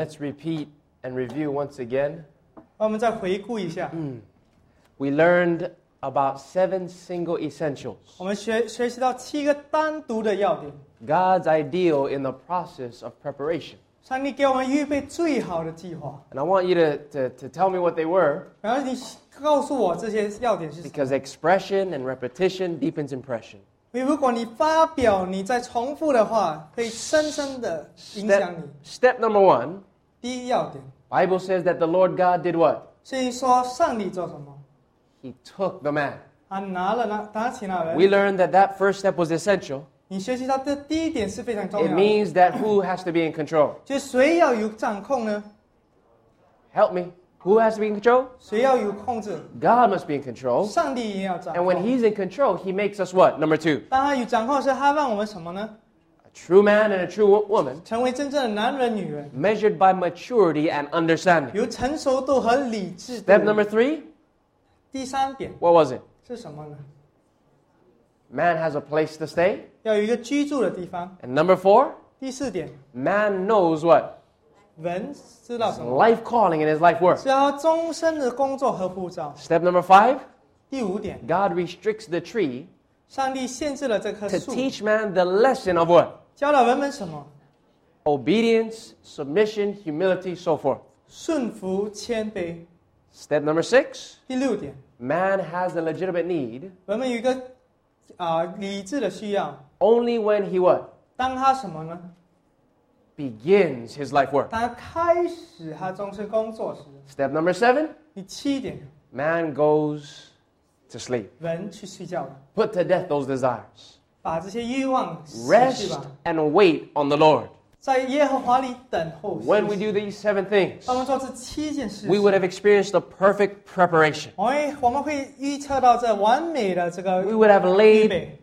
let's repeat and review once again. 我们再回顾一下， We learned about 7 single essentials. 我们学习到7个单独的要点。 God's ideal in the process of preparation. 上帝给我们预备最好的计划， And I want you to tell me what they were, 然后你告诉我这些要点是什么。 because expression and repetition deepens impression. 因为如果你发表，你再重复的话，可以深深的影响你。 Step number 1, 第一要点， Bible says that the Lord God did what? 所以说上帝做什么？ He took the man. 他拿起那人。 We learned that first step was essential. 你学习到这第一点是非常重 It 要的， means that who has to be in control? 就是谁要有掌控呢？ Help me. Who has to be in control? 谁要有控制？ God must be in control. 上帝也要掌 And when 控。 He's in control, He makes us what? Number 2. 当他有掌控时，他让我们什么呢？ A true man and a true woman 成为真正的男人、女人， measured by maturity and understanding. 有成熟度和理智度。 Step number 3, 第三点 what was it? 是什么呢？ Man has a place to stay. 要有一个居住的地方。 And number 4, 第四点， man knows what? 人知道 His 什么？ life calling and his life work. 是要终身的工作和护照。 Step number 5, 第五点， God restricts the tree 上帝限制了这棵 to 树， teach man the lesson of what? 教导人们什么？ Obedience, submission, humility, so forth. 顺服、谦卑。 Step number 6, 第六点， man has a legitimate need 人们有一个理智的需要。 only when he what? 当他什么呢？ Begins his life work. 当他开始他终身工作时。 Step number 7, 第七点， man goes to sleep. 人去睡觉了， Put to death those desires. 把这些欲望死去 Rest 吧， and wait on the Lord. 在耶和华里等候。 When we do these 7 things, 当我们做这7件事 we would have experienced the perfect preparation. 我们会预测到这完美的这个 We would have 预 laid 备，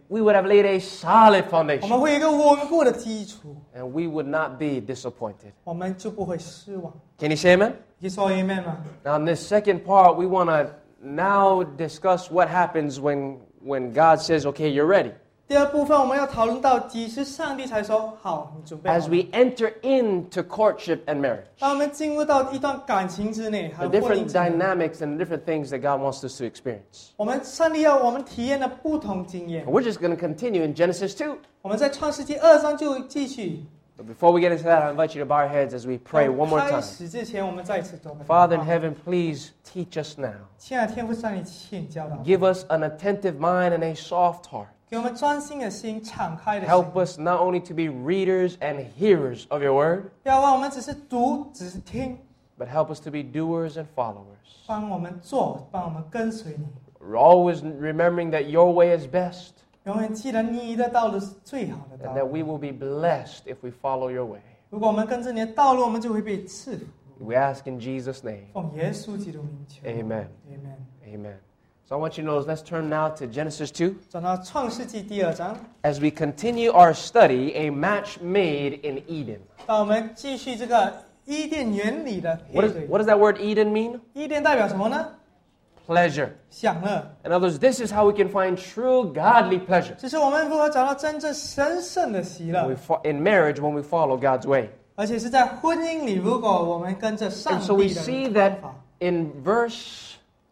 a solid 我 foundation, 们会有一个稳固的基础， and we would not be disappointed. 我们就不会失望。 Can you say amen? 你说 amen 吗？ Now, in this second part, we want to now discuss what happens when God says, okay, you're ready. 第二部分我们要讨论到几时上帝才说好，你准备好 As 了。 we enter into courtship and marriage, 当我们进入到一段感情之内，还 the 有婚姻 different 之内， dynamics and the different things that God wants us to experience. 上帝要我们体验的不同经验 And。we're just going to continue in Genesis 2. 我们在创世纪2章就继续。 But before we get into that, I invite you to bow our heads as we pray one more 开 time. 始之前，我们再一次祷告。 Father in heaven, please teach us now. 亲爱的天父上帝，请教导， Give us an attentive mind and a soft heart. 给我们专心的心，敞开的 Help 心， us not only to be readers and hearers of your word, 不要让我们只是读，只是听， but help us to be doers and followers. 帮我们做，帮我们跟随你。 We're always remembering that your way is best 永远记得你的道路是最好的 and 道 that 路。 we will be blessed if we follow your way. 如果我们跟着你的道路，我们就会被赐福。 We ask in Jesus' name. 奉耶稣基督名求。 Amen. Amen。 Amen. So I want you to know, let's turn now to Genesis 2. 转到创世纪第2章， As we continue our study, A Match Made in Eden. 当我们继续这个伊甸园里的配 What 对。 does that word Eden mean? 伊甸代表什么呢？ Pleasure. 享乐。 In other words, this is how we can find true godly pleasure 这是我们如何找到真正神圣的喜乐， in marriage when we follow God's way. 而且是在婚姻里，如果我们跟着上 And so we 帝 see 的 that 方法。 in verse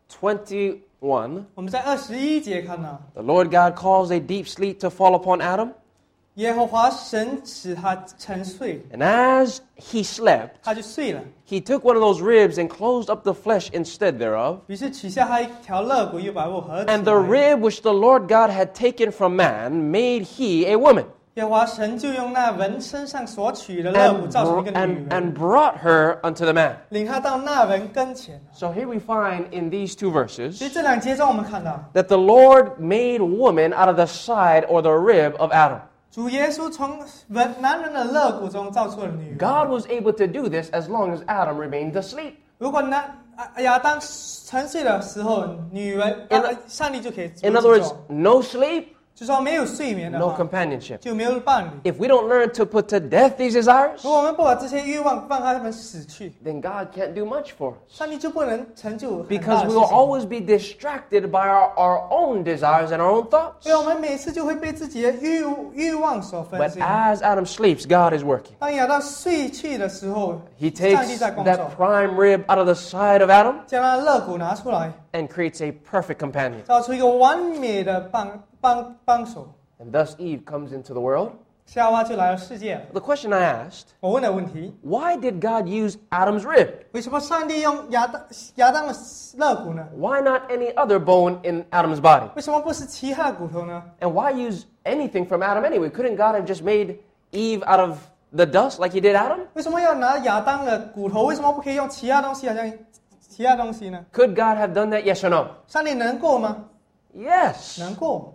21, 我们在21节看到， the Lord God calls a deep sleep to fall upon Adam. 耶和华神使他沉睡， And as he slept, 他就睡了。 he took one of those ribs and closed up the flesh instead thereof. 于是取下他一条肋骨，又把肉合起 And the 来。 rib which the Lord God had taken from man made he a woman 耶和华神就用那人身上所取的肋骨 and, 造成一个女 and 人， brought her unto the man. 领他到那人跟前。 So here we find in these two 所 verses 以这2节中，我们看到 that the Lord made woman out of the side or the rib of Adam. 主耶稣从男人的肋骨中造出了女人。 God was able to do this as long as Adam remained asleep. 如果亚当沉睡的时候，女人 In 上帝就可以 In other 做 words, no sleep, 就说没有睡眠的 no 话， companionship. 就没有伴侣。 If we don't learn to put to death these desires, 如果我们不把这些欲望让他们死去， then God can't do much for us. 上帝就不能成就很大 Because 的 we 事 will 情。 always be distracted by our own desires and our own thoughts. 所以我们每次就会被自己的欲望所分 But 心。 as Adam sleeps, God is working. 当亚当睡去的时候， He 上帝 takes 在工作， that prime rib out of the side of Adam 将他的肋骨拿出来， and creates a perfect companion. 造出一个完美的帮手。 And thus Eve comes into the world. 夏娃就来到世界了。 The question I asked, 我问的问题： why did God use Adam's rib? 为什么上帝用亚当的肋骨呢？ Why not any other bone in Adam's body? 为什么不是其他的骨头呢？ And why use anything from Adam anyway? Couldn't God have just made Eve out of the dust like he did Adam? 为什么要拿亚当的骨头？为什么不可以用其他东西？好像其他东西呢？ Could God have done that? Yes or no? 上帝能够吗？ Yes. 能够。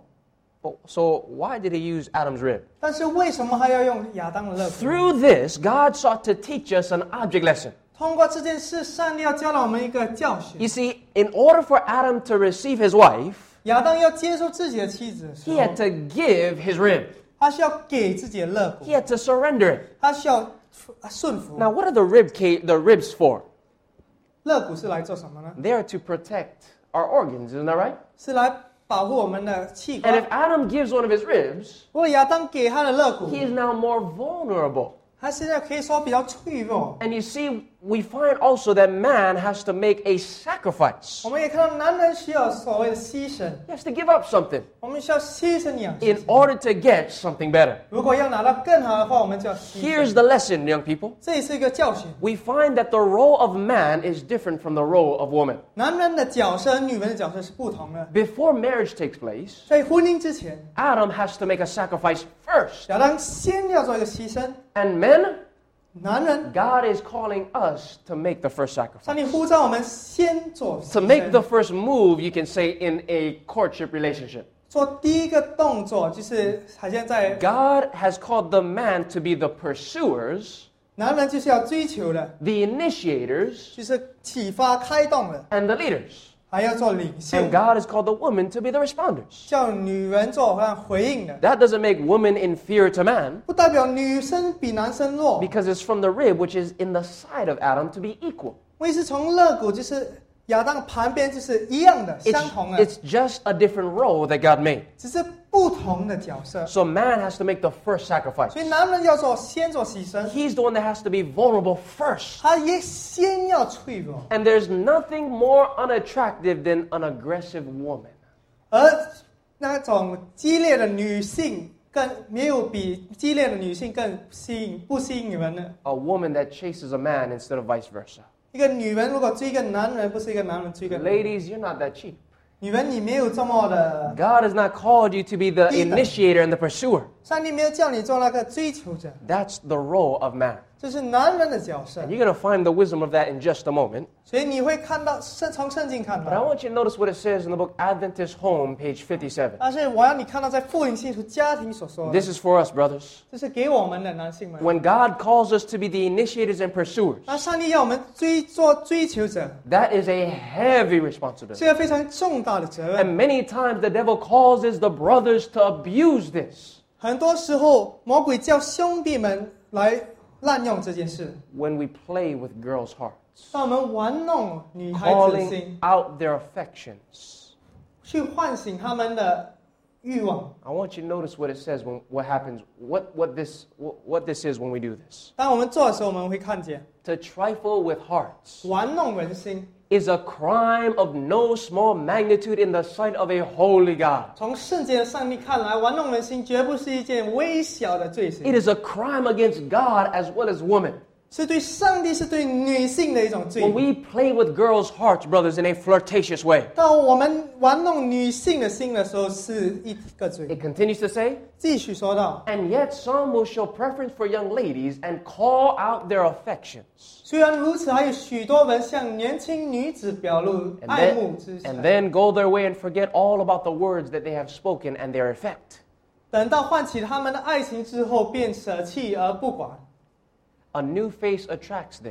So why did he use Adam's rib? 但是为什么还要用亚当的肋骨？ Through this, God sought to teach us an object lesson. 通过这件事，上帝要教导我们一个教训。 You see, in order for Adam to receive his wife, 亚当要接受自己的妻子的时 he 候 had，to give his rib. 他需要给自己的肋骨 He，had to surrender it. 他需要顺服。 Now, what are the ribs for? 肋骨是来做什么呢？ They are to protect our organs, isn't that right? 是来保护我们的器 And if 官。 Adam gives one of his ribs, 如果亚当给他的肋骨， he is now more vulnerable. 他现在可以说比较脆弱。 And you see, we find also that man has to make a sacrifice. 我们也看到男人需要所谓的牺牲， He has to give up something 我们需要牺牲养 in order to get something better. 如果要拿到更好的话，我们就要牺 Here's 牲。 the lesson, young people. 这也是一个教训。 We find that the role of man is different from the role of woman. 男人的角色和女人的角色是不同的。 Before marriage takes place, 在婚姻之前， Adam has to make a sacrifice first. 亚当先要做一个牺牲。 And men, 男人， God is calling us to make the first 上 sacrifice. 帝呼召我们先做牺 To make 牲 the first move, you can say, in a courtship relationship. 做第一个动作，就是好像在 God has called the man to be the pursuers, 男人就是要追求的， the initiators, 就是启发、开动的， and the leaders. 还要做领袖 And，God has called the woman to be the responders. 叫女人做回应的， That doesn't make woman inferior to man, 不代表女生比男生弱。 because it's from the rib, which is in the side of Adam, to be equal. 为是从肋骨，就是亚当旁边，就是一样的，相同的， It's just a different role that God made. 只是不同的角色。 So man has to make the first sacrifice. 所以男人要先做牺牲， He's the one that has to be vulnerable first. 他也先要脆弱。 And there's nothing more unattractive than an aggressive woman. 而那种激烈的女性更没有比激烈的女性更不吸引人的。 A woman that chases a man instead of vice versa. 一个女人如果追一个男人，不是一个男人追一个女人 Ladies, you're not that cheap. 女人，你没有这么的， God has not called you to be the Either. initiator and the pursuer. 上帝没有叫你做那个追求者， That's the role of man. 这是男人的角色 And。you're going to find the wisdom of that in just a moment. 所以你会看到从圣经看 But I 到， want you to notice what it says in the book Adventist Home, page 57. 但是我要你看到在复临信徒家庭所说的， This is for us, brothers. 这是给我们的男性们。 When God calls us to be the initiators and pursuers, 那上帝要我们做追求者， that is a heavy responsibility. 是一个非常重大的责任。 And many times the devil causes the brothers to abuse this 很多时候，魔鬼叫兄弟们来滥用这件事， when we play with girls' hearts, 让我们玩弄女孩子的 calling 心， out their affections. 去唤醒他们的欲望。 I want you to notice what it says when what happens, what this is when we do this. 当我们做的时候，我们会看见 To trifle with hearts 玩弄人心。 is a crime of no small magnitude in the sight of a holy God. 从圣洁的上帝看来，玩弄人心绝不是一件微小的罪 It 行， is a crime against God as well as woman. 是对上帝，是对女性的一种罪 When。we play with girls' hearts, brothers, in a flirtatious way. 当我们玩弄女性的心的时候，是一个罪。 It continues to say, 继续说到， and yet some will show preference for young ladies and call out their affections. 虽然如此，还有许多人向年轻女子表露 And 爱慕之 then, 情， and then go their way and forget all about the words that they have spoken and their effect. 等到唤起他们的爱情之后，便舍弃而不管。 A new face attracts them.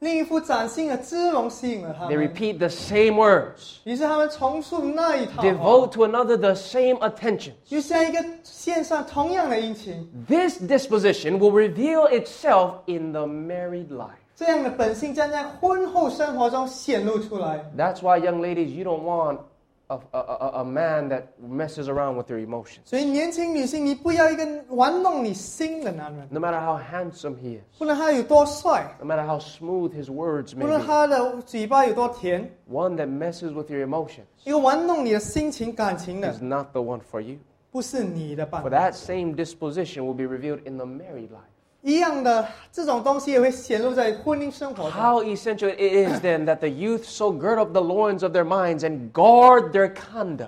另一副崭新的姿容吸引了他 They 们， repeat the same words. 于是他们重述那一套话， Devote to another the same attention. 就像一个献上同样的殷勤。 This disposition will reveal itself in the married life. 这样的本性将在婚后生活中显露出来。 That's why, young ladies, you don't want a man that messes around with your emotions. 所以年轻女性，你不要一个玩弄你心的男人， No matter how handsome he is, 不论他有多帅， no matter how smooth his words 不 may 论 be, 他的嘴巴有多甜， one that messes with your emotions 一个玩弄你的心情感情的 is，not the one for you. 不是你的伴 For 侣。 that same disposition will be revealed in the married life. 一样的这种东西也会显露在婚姻生活中。 How essential it is then that the youth so gird up the loins of their minds and guard their conduct.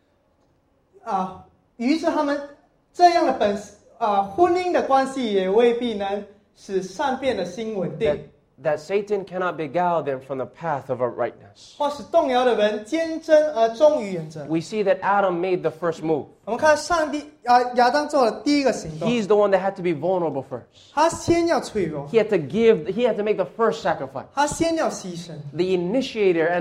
于是他们这样的婚姻的关系也未必能使善变的心稳定， That Satan cannot beguile them from the path of uprightness. 或使动摇的人坚贞而忠于原则。 We see that Adam made the first move. 我们看亚当做了第一个行动， He's the one that had to be vulnerable first. 他先要脆弱， He had to make the first sacrifice. 他先要牺牲， The initiator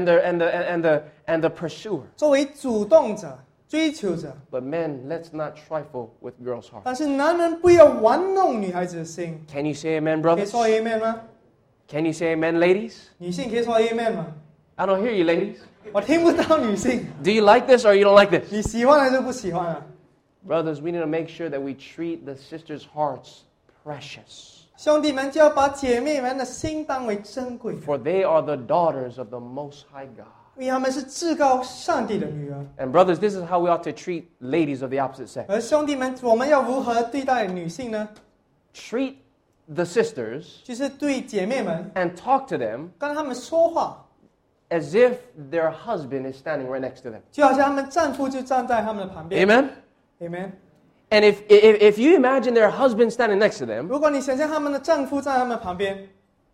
and the pursuer. 作为主动者、追求者。 But men, let's not trifle with girls' hearts. 但是男人不要玩弄女孩子的心， Can you say amen, 可以 brothers? 说 amen 吗？ Can you say amen, ladies? 女性可以说 amen 吗？ I don't hear you, ladies. 我听不到女性， Do you like this or you don't like this? 你喜欢还是不喜欢啊？ Brothers, we need to make sure that we treat the sisters' hearts precious. 兄弟们就要把姐妹们的心当为珍贵的， For they are the daughters of the Most High God. 因为她们是至高上帝的女儿。 And brothers, this is how we ought to treat ladies of the opposite sex. 而兄弟们，我们要如何对待女性呢？ Treat the sisters 就是对姐妹们， and talk to them 跟她们说话， as if their husband is standing right next to them. 就好像她们丈夫就站在她们的旁边。 Amen? Amen。 And if you imagine their husband standing next to them, 如果你想象她们的丈夫站在她们旁边，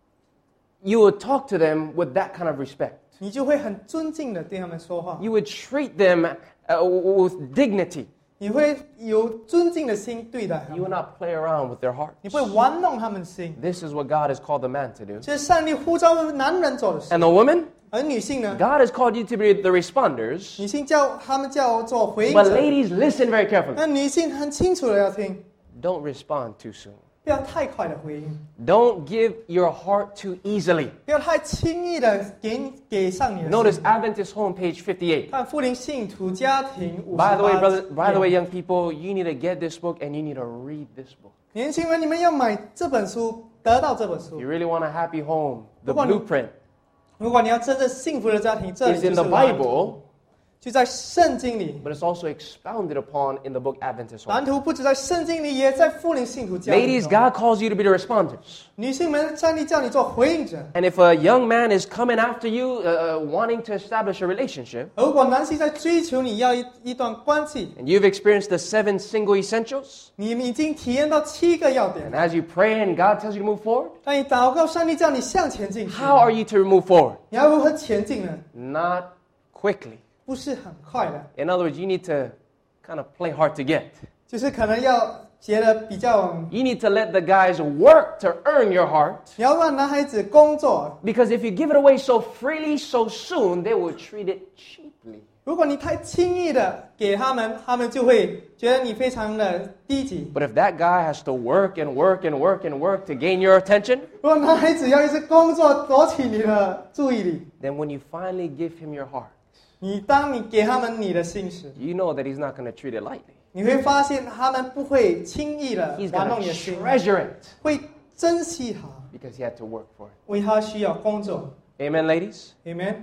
you would talk to them with that kind of respect. 你就会很尊敬的对她们说话， You would treat them with dignity. 你会有尊敬的心对待她 You would 们， not play around with their hearts. 你不会玩弄她们的心。 This is what God has called the man to do. 这是上帝呼召男人做的事， And the woman, 而女性呢？ God has called you to be the responders. 女性他们叫做回应 But 者， ladies, listen very carefully. 那女性很清楚的要听， Don't respond too soon. 不要太快的回应， Don't give your heart too easily. 不要太轻易的给上你的心。 Notice Adventist Home, page 58. 看福林信徒家庭58 By the way, brother, by the way, 页 young people, you need to get this book and you need to read this book. 年轻人，你们要买这本书，得到这本书 You。really want a happy home? The Come on. blueprint 如果你要真正幸福的家庭，这里 is 就 in 是 the 蓝图， Bible, 就在圣经里。 but it's also expounded upon in the book Adventist Home. 蓝图不止在圣经里，也在福林信徒家庭 Ladies, 中。 God calls you to be the responders. 女性们，上帝叫你做回应者。 And if a young man is coming after you, wanting to establish a relationship, 如果男性在追求你要一段关系， and you've experienced the 7 single essentials, 你已经体验到7个要点 and。as you pray and God tells you to move forward, 当你祷告，上帝叫你向前进去， how are you to move forward? 你要如何前进呢？ Not quickly. 不是很快的， In other words, you need to kind of play hard to get. 就是可能要觉得比较， You need to let the guys work to earn your heart. 你要让男孩子工作。 Because if you give it away so freely, so soon, they will treat it cheaply. 如果你太轻易的给他们，他们就会觉得你非常的低级。 But if that guy has to work and work and work and work to gain your attention, 如果男孩子要一直工作夺取你的注意力， then when you finally give him your heart, 当你给他们你的心时， you know that he's not going to treat it lightly. 你会发现他们不会轻易的 He's 玩 going 弄 to 你的心， treasure it 会珍惜它， because he had to work for it. 为他需要工作。 Amen, ladies? Amen。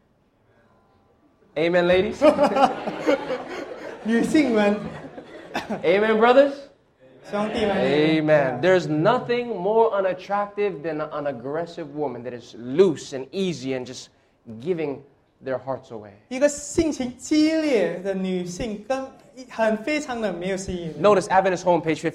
Amen, ladies? 女性们、 Amen, brothers? 兄弟们 Amen. There's nothing more unattractive than an aggressive woman that is loose and easy and just giving their hearts away. 一个性情激烈的女性，非常的没有吸引力。 Notice Adventist Home, page 58.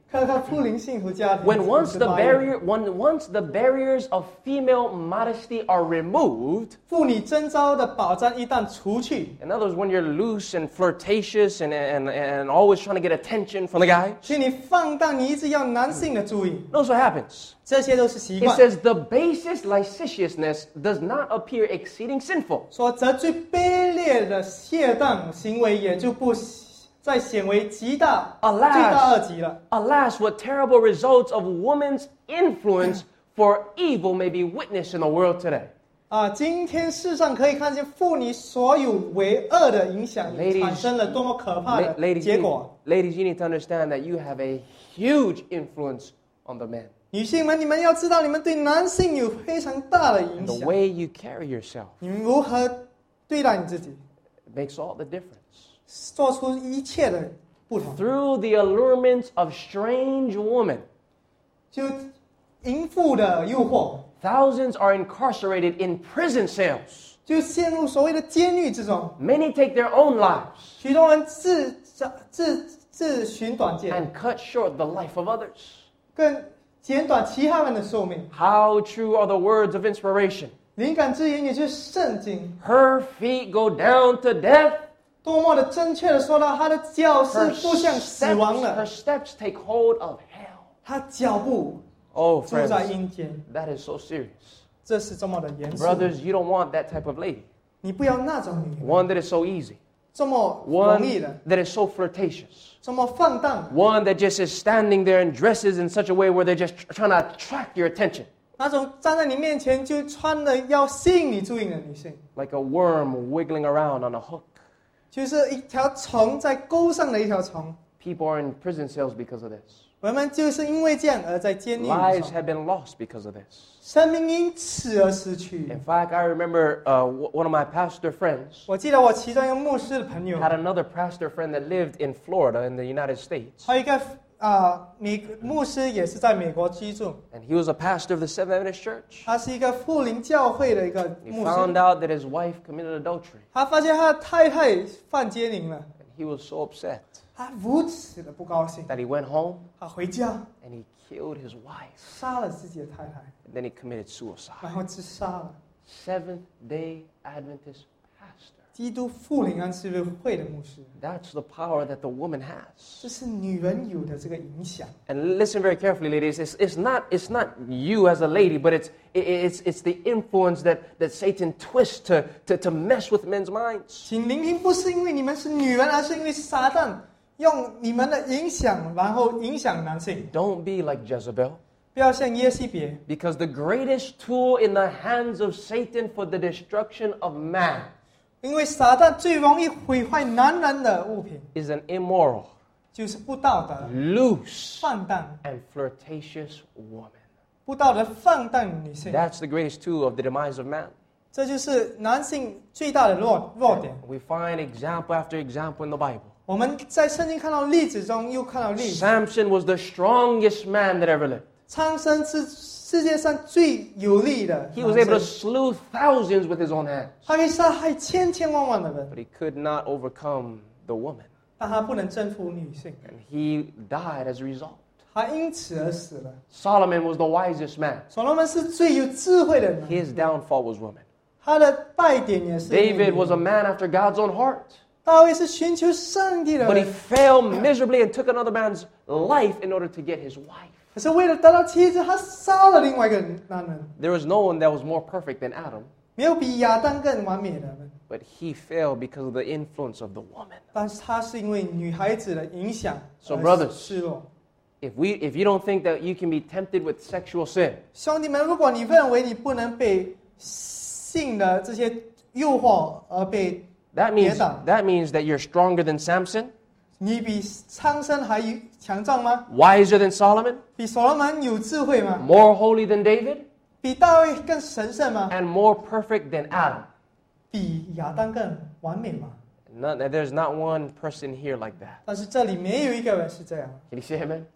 看看富林幸福家庭。 When once the 58 once the barriers of female modesty are removed, 妇女贞操的保障一旦除去， in other words, when you're loose and flirtatious and always trying to get attention from the guy, 请你放荡，你一直要男性的注意， notice what happens. 这些都是习 He 惯。 says the basest licentiousness does not appear exceeding sinful. 说这最卑劣的懈荡行为也就不再显为极大 Alas 罪大恶极了。 Alas, what terrible results of woman's influence for evil may be witnessed in the world today. 今天世上可以看见妇女所有为恶的影响 Ladies 产生了多么可怕的 Ladies, 结果。 ladies, you need to understand that you have a huge influence on the man. 女性们，你们要知道，你们对男性有非常大的影 The 响。 way you carry yourself 你们如何对待你自己， makes all the difference. 做出一切的不同。 Through the allurements of strange women, 就淫妇的诱惑， thousands are incarcerated in prison cells. 就陷入所谓的监狱之中。 Many take their own lives 许多人自寻短见， and cut short the life of others. 更减短其他人的寿命。 How true are the words of inspiration? 灵感之言也就是圣经， Her feet go down to death. 多么的正确的说到，他的脚是 Her 步向死亡 her 的， steps take hold of hell. 他脚步 Oh, 住在 friends, 阴间， that is so serious. 这是这么的严肃。 Brothers, you don't want that type of lady. 你不要那种女人， One that is so easy. 这么 One 容易的， that is so flirtatious. 这么放荡， One that just is standing there and dresses in such a way where they're just trying to attract your attention. 那种站在你面前就穿的要吸引你注意的女性， Like a worm wiggling around on a hook. 就是一条虫在钩上的一条虫。 People are in prison cells because of this. 人们就是因为这样而在监狱里 Lives 头， have been lost because of this. 生命因此而失去 In。fact, I remember one of my pastor friends 我记得我其中一个牧师的朋友， had another pastor friend that lived in Florida in the United States. 还有一个牧师也是在美国居住， And he was a pastor of the Seventh Adventist Church. 他是一个富林教会的一个 He 牧 found 师。 out that his wife committed adultery. 他发现他的太太犯奸淫了， And he was so upset 他如此的不高兴， that he went home 他回家 and he killed his wife. 杀了自己的太太， And then he committed suicide. 然后自杀了。 Seventh-day Adventist pastor. 基督复临安息日会的牧师， That's the power that the woman has. 这是女人有的这个影响。 And listen very carefully, ladies. It's not you as a lady, but it's the influence that Satan twists to mess with men's minds. 请聆听，不是因为你们是女人，而是因为撒旦用你们的影响，然后影响男性。 Don't be like Jezebel. 不要像耶西别， Because the greatest tool in the hands of Satan for the destruction of man 因为撒旦最容易毁坏男人的物品， is an immoral, 就是不道德、 loose, 放荡、 and flirtatious woman. 不道德、放荡女性。 That's the greatest tool of the demise of man. 这就是男性最大的弱点。 We find example after example in the Bible. 我们在圣经看到例子中又看到例子。 Samson was the strongest man that ever lived. 苍生是世界上最有力的 He was able to 男生， slew thousands with his own hands, 他可以杀害千千万万的人， but he could not overcome the woman. 但他不能征服女性， And he died as a result. 他因此而死了。 Solomon was the wisest man. 所罗门是最有智慧的人， His downfall was woman. 他的败点也是 David 女 was a man after God's own heart. 大卫是寻求上帝的 But he 人， failed miserably and took another man's life in order to get his wife. 可是为了得到妻子，他杀了另外一个男人。 There was no one that was more perfect than Adam, 没有比亚当更完美的人， but he failed because of the influence of the woman. 但是他是因为女孩子的影响 So 而 brothers 失落。 If you don't think that you can be tempted with sexual sin, 兄弟们，如果你认为你不能被性的这些诱惑而被 that 跌 means 倒， that you're stronger than Samson, 你比苍生还强壮吗？ wiser than Solomon, 比所罗门有智慧吗？ more holy than David, 比大卫更神圣吗？ and more perfect than Adam. 比亚当更完美吗？ There's not one person here like that. 但是这里没有一个人是这样。 Can you say amen?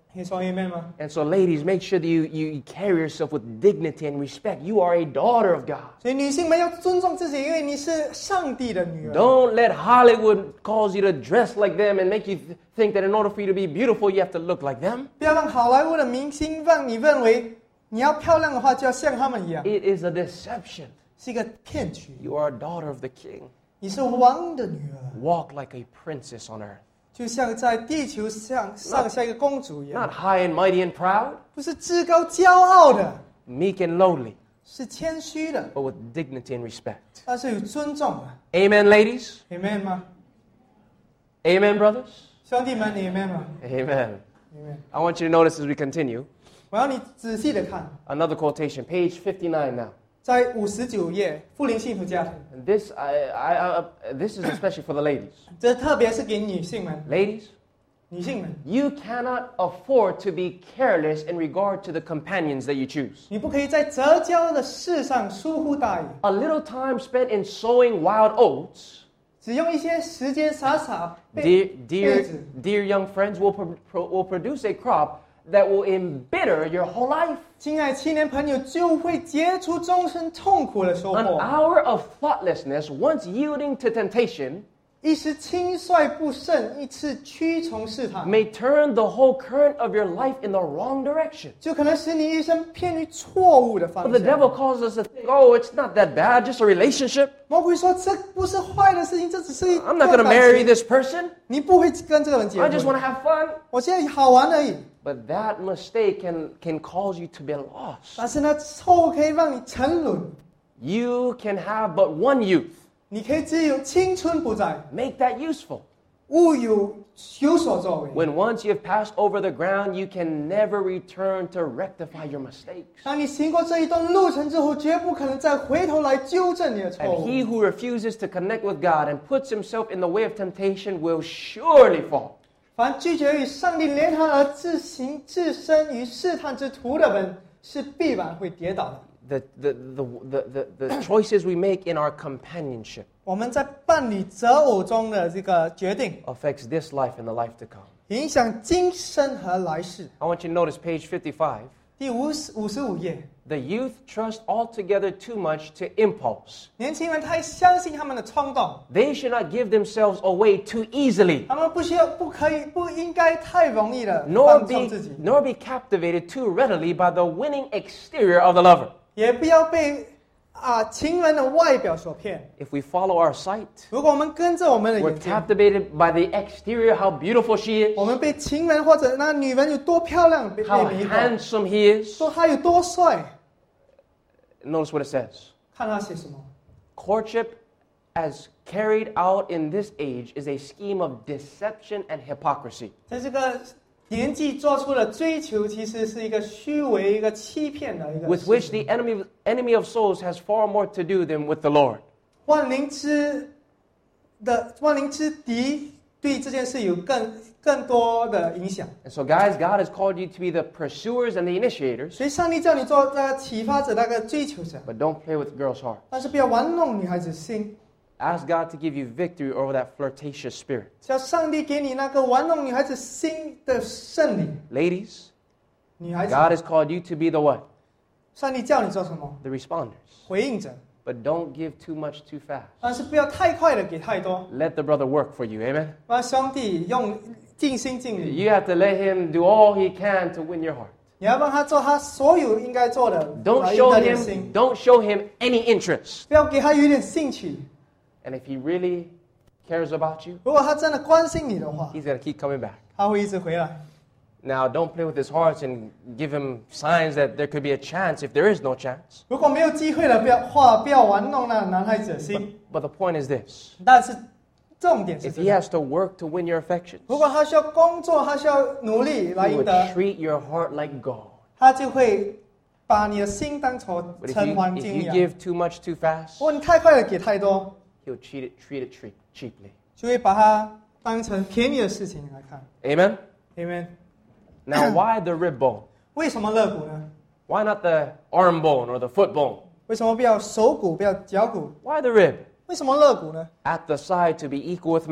你说 amen 吗？ And so, ladies, make sure that you carry yourself with dignity and respect. You are a daughter of God. 所以女性们要尊重自己，因为你是上帝的女儿。 Don't let Hollywood cause you to dress like them and make you think that in order for you to be beautiful, you have to look like them. 不要让好莱坞的明星让你认为你要漂亮的话就要像他们一样， It is a deception. 是一个骗局。 You are a daughter of the King. 你是王的女儿， Walk like a princess on earth. 就像在地球上像一个公主一样， Not high and mighty and proud, 不是至高骄傲的， meek and lowly, 是谦虚的， but with dignity and respect. 但是有尊重的。 Amen, ladies. Amen 吗？ Amen, brothers. 兄弟们，你 Amen 吗 Amen. ？Amen。 I want you to notice as we continue 我要你仔细的看， another quotation, page 59 now. 在59页，富林幸福家庭， And this is especially for the ladies. 这特别是给女性们， Ladies, 女性们， you cannot afford to be careless in regard to the companions that you choose. 你不可以在择交的事上疏忽大意， A little time spent in sowing wild oats, 只用一些时间傻 dear young friends, will produce a crop that will embitter your whole life. 亲爱青年朋友就会结出终身痛苦的收 An 获。 hour of thoughtlessness, once yielding to temptation, 一时轻率不慎，一次屈从试探， may turn the whole current of your life in the wrong direction. 就可能使你一生偏离错误的 But 方 the 向。 devil calls us to think, oh, it's not that bad, just a relationship. 魔鬼说这不是坏的事情，这只是一 I'm not going to 段 marry 感情， this person. 你不会跟这个人结 I just want 婚。 to have fun. 我现在好玩而已， But that mistake can cause you to be lost. 但是呢，错误可以让你沉沦。 You can have but one youth. 你可以只有青春不在， Make that useful. 勿有所作为。 When once you have passed over the ground, you can never return to rectify your mistakes. 当你行过这一段路程之后，绝不可能再回头来纠正你的错 And 误。 he who refuses to connect with God and puts himself in the way of temptation will surely fall. 凡拒绝与上帝联合而自身于试探之途的人，是必然会跌倒的。 The choices we make in our companionship 我们在伴侣择偶中的这个决定， affects this life and the life to come. 影响今生和来世。 I want you to notice page 55. 第55页， The youth trust altogether too much to impulse. 年轻人太相信他们的冲动， They should not give themselves away too easily, 他们不应该太容易的 nor 放纵自己， be captivated too readily by the winning exterior of the lover. 也不要被情人的外表所骗。 If we follow our sight, 如果我们跟着我们的 we're 眼睛， captivated by the exterior, how beautiful she 我 is, 们被情人或者那女人有多漂亮被 how 迷惑， handsome he is. 说他有多帅， Notice what it says. 看他写什么。 Courtship, as carried out in this age, is a scheme of deception and hypocrisy. 在这个年纪做出的追求，其实是一个虚伪、一个欺骗的一个 with 事 which 情 the enemy of souls has far more to do than with the Lord. 万灵之敌对这件事有更多的影响。 And so, guys, God has called you to be the pursuers and the initiators, 所以上帝叫你做那个启发者、那个追求者， but don't play with girls' hearts. 但是不要玩弄女孩子心。 Ask God to give you victory over that flirtatious spirit. 叫上帝给你那个玩弄女孩子心的圣灵。 Ladies, 女孩子， God has called you to be the what? 上帝叫你做什么？ The responders. 回应者， But don't give too much too fast. 但是不要太快的给太多， Let the brother work for you, amen? 让兄弟用尽心尽力。 You have to let him do all he can to win your heart. 你要帮他做他所有应该做的， Don't 来赢 show 得你的心， show him any interest. 不要给他有一点兴趣。 And if he really cares about you, 如果他真的关心你的话， he's going to keep coming back. 他会一直回来。 Now, don't play with his heart and give him signs that there could be a chance if there is no chance. 如果没有机会了，不要玩弄那男孩子的心。 But the point is this. 但是重点是 If 这 he 个， has to work to win your affections, 如果他需要工作，他需要努力来 he 赢 would 得， treat your heart like gold. 他就会把你的心当成 But 陈黄 if 金 you 一样。 give too much too fast, 如果你太快的给太多， he'll treat it cheaply. 就会把它当成便宜的事情来看。 Amen? Amen。 Now, why the rib bone? 为什么肋骨呢？ Why not the arm bone or the foot bone? 为什么不要手骨，不要脚骨？ Why the rib? 为什么肋骨呢？ At the side to be equal with man?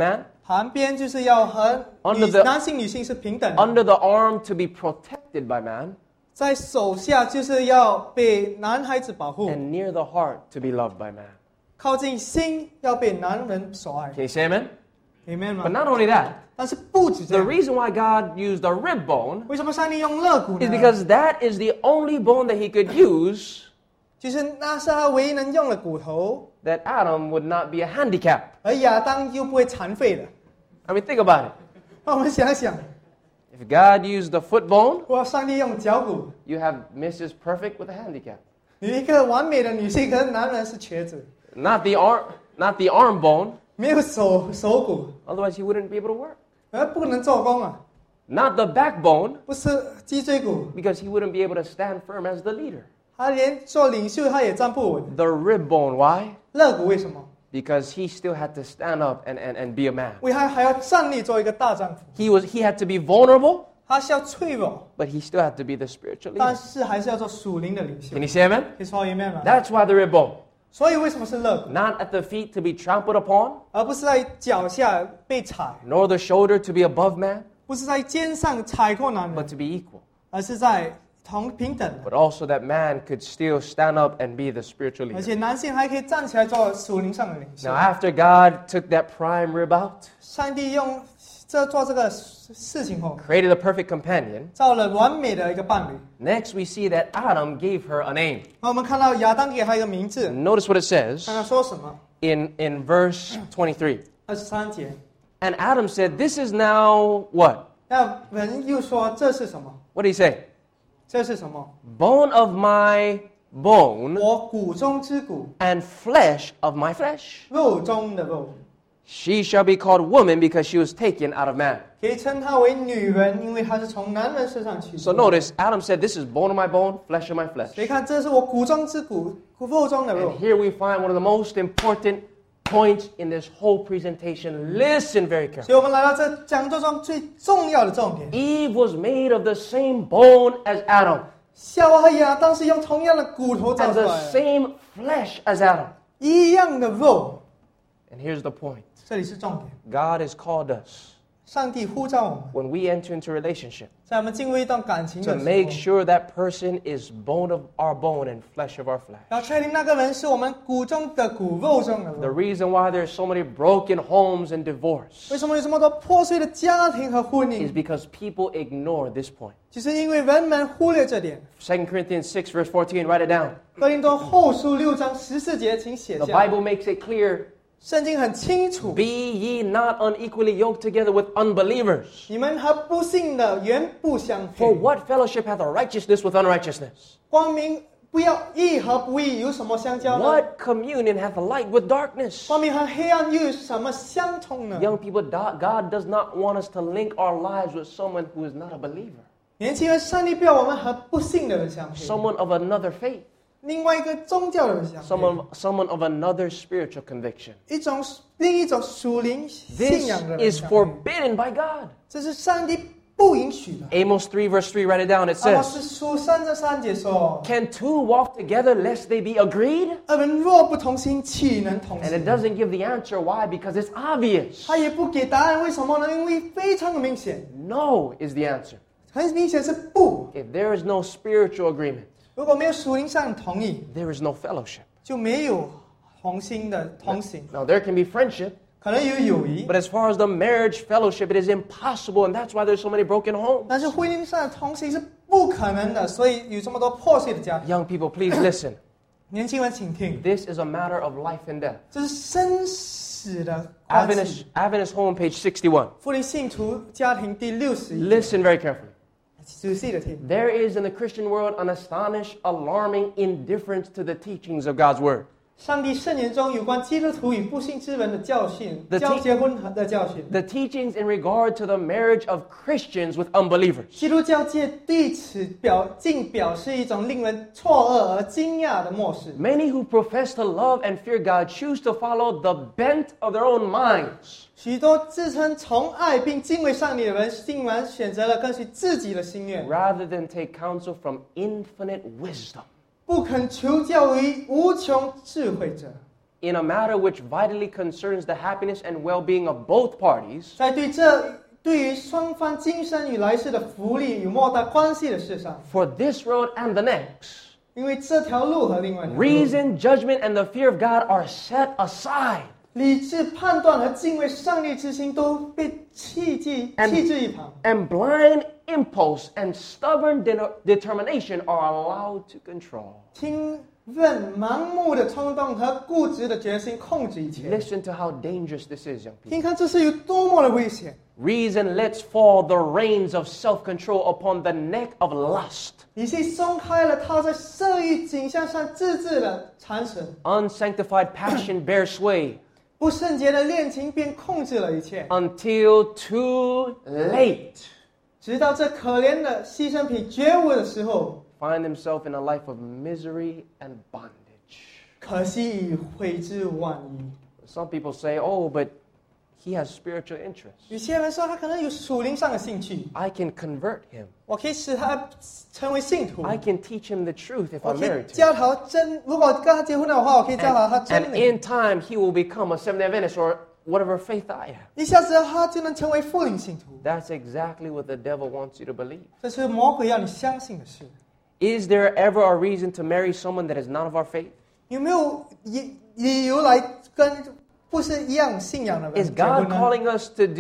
旁边就是要和 Under the- 男性女性是平等的， under the arm to be protected by man, 在手下就是要被男孩子保护， and near the heart to be loved by man. 靠近心要被男人所爱 Can you say amen? ，amen But 吗？ not only that, 但是不止这 the 样， reason why God used the rib bone 为什么上帝用肋骨 is 呢？ because that is the only bone that he could use 就是那是他唯一能用的骨头， that Adam would not be a handicap. 而亚当又不会残废的。 I mean, think about it. 那我们想想， If God used the foot bone, 如果上帝用脚骨， you have Mrs. Perfect with a handicap. 你一个完美的女性，可是男人是瘸子， Not the arm bone, 没有手骨， otherwise he wouldn't be able to work. 而不能做工啊， Not the backbone, 不是脊椎骨， because he wouldn't be able to stand firm as the leader. 他连做领袖他也站不稳。 The rib bone, why? 肋骨为什么？ Because he still had to stand up and be a man. 为他还要站立做一个大丈夫， He had to be vulnerable, 他是要脆弱， but he still had to be the spiritual 但 leader. 是还是要做属灵的领袖 Can。you say amen? 可以说 amen 吗？ That's why the rib bone. 所以为什么是肋骨， Not at the feet to be trampled upon, 而不是在脚下被踩， nor the shoulder to be above man, 不是在肩上踩过男 but 人， to be equal. 而是在平等的。 But also that man could still stand up and be the spiritual 而 leader. 且男性还可以站起来做属灵上的领袖 Now,。after God took that prime rib out, 上帝用做这个事情后， created a perfect companion, 造了完美的一个伴侣。 next we see that Adam gave her a name. 那我们看到亚当给他一个名字， Notice what it says 看他说什么 in verse 23. ？23节， And Adam said, This is now what? 那人又说这是什么？ What did he say? 这是什么？ Bone of my bone 我骨中之骨， and flesh of my flesh. 肉中的肉， She shall be called woman because she was taken out of man. 可以称她为女人，因为她是从男人身上取 So 出。 notice, Adam said, This is bone of my bone, flesh of my flesh. 所以看，这是我骨中之骨，肉中的肉 And。here we find one of the most important points in this whole presentation. Listen very 所 carefully. 以我们来到这讲座中最重要的重点。 Eve was made of the same bone as Adam 夏娃和亚当是用同样的骨头造 and 出 the 来的， same flesh as Adam. 一样的肉。 And here's the point. 这里是重点。 God has called us 上帝呼召我们， when we enter into a relationship 在我们进入一段感情 to 的 make 时候， sure that person is bone of our bone and flesh of our flesh. 要确定那个人是我们骨中的骨，肉中的 The 肉。 reason why there's so many broken homes and divorce 为什么有这么多破碎的家庭和婚 is 姻？ because people ignore this point. 就是因为人们忽略这点。 2 Corinthians 6 verse 14, write it down. 哥林多后书6章14节，请写 The 下。 Bible makes it clear, 圣经很清楚， be ye not unequally yoked together with unbelievers. 你们和不信的原不相 For 配。 what fellowship hath righteousness with unrighteousness? 光明不要义和不义有什么相交呢？ What communion hath light with darkness? 光明和黑暗又有什么相通呢？ Young people, God does not want us to link our lives with someone who is not a believer, 年轻人，上帝不要我们和不信的人相配， someone of another faith, 另外一个宗教的人相配， someone of another spiritual conviction. 另一种属灵信仰 This 的人 is 相配， forbidden by God. 这是上帝不允许的。 Amos 3 verse 3, write it down. It 阿摩 says, 斯书3节说 Can two walk together lest they be agreed? 二人若不同心，岂能同 And it 行？ doesn't give the answer. Why? Because it's obvious. 他也不给答案，为什么呢？因为非常的明显， No is the answer. 很明显是不。 If there is no spiritual agreement, 如果没有属灵上的同意， there is no fellowship. 就没有同心的同行， Now, there can be friendship, 可能有友谊， but as far as the marriage fellowship, it is impossible, and that's why there's so many broken homes. 但是婚姻上的同行是不可能的，所以有这么多破碎的家庭。 Young people, please listen. 年轻人，请听， This is a matter of life and death. 这是生死的关系。 Adventist home, page 61. 福音信徒家庭第61， Listen very carefully. 仔细的听。 There is in the Christian world an astonished, alarming indifference to the teachings of God's Word. 上帝圣言中有关基督徒与不信之人的教训， The 结婚的教训。 The teachings in regard to the marriage of Christians with unbelievers. 基督教界对此表示一种令人错愕而惊讶的漠视。 Many who profess to love and fear God choose to follow the bent of their own minds. 许多自称崇爱并敬畏上帝的人，竟然选择了跟随自己的心愿， rather than take counsel from infinite wisdom. 不肯求教于无穷智慧者。 in a matter which vitally concerns the happiness and well-being of both parties, 在对于双方今生与来世的福利与莫大关系的事上， for this road and the next, 因为这条路和另外一条路， reason, judgment, and the fear of God are set aside. 理智判断和敬畏上帝之心都被弃置一旁， And blind impulse and stubborn determination are allowed to control. 听任盲目的冲动和固执的决心控制一切。 Listen to how dangerous this is, young people. 听看这是有多么的危险。 Reason lets fall the reins of self-control upon the neck of lust. 理性松开了他在色欲景象上自制的缠绳， Unsanctified passion bears sway 不圣洁的恋情便控制了一切， until too late. 直到这可怜的牺牲品觉悟的时候， Find himself in a life of misery and bondage. 可惜已悔之晚矣。 Some people say, oh, but he has spiritual interests. 有些人说他可能有属灵上的兴趣， I can convert him. 我可以使他成为信徒， I can teach him the truth if 我 I'm 可以 married to him. 教他真。如果跟他结婚的话，我可以教他 And 真理。 in time, he will become a Seventh-day Adventist or whatever faith I have. 一下子他就能成为复灵信徒， That's exactly what the devil wants you to believe. 这是魔鬼要你相信的事。 Is there ever a reason to marry someone that is not of our faith? 有没有理由来跟不是一样信仰的人 Is 结婚 God 呢？ calling us to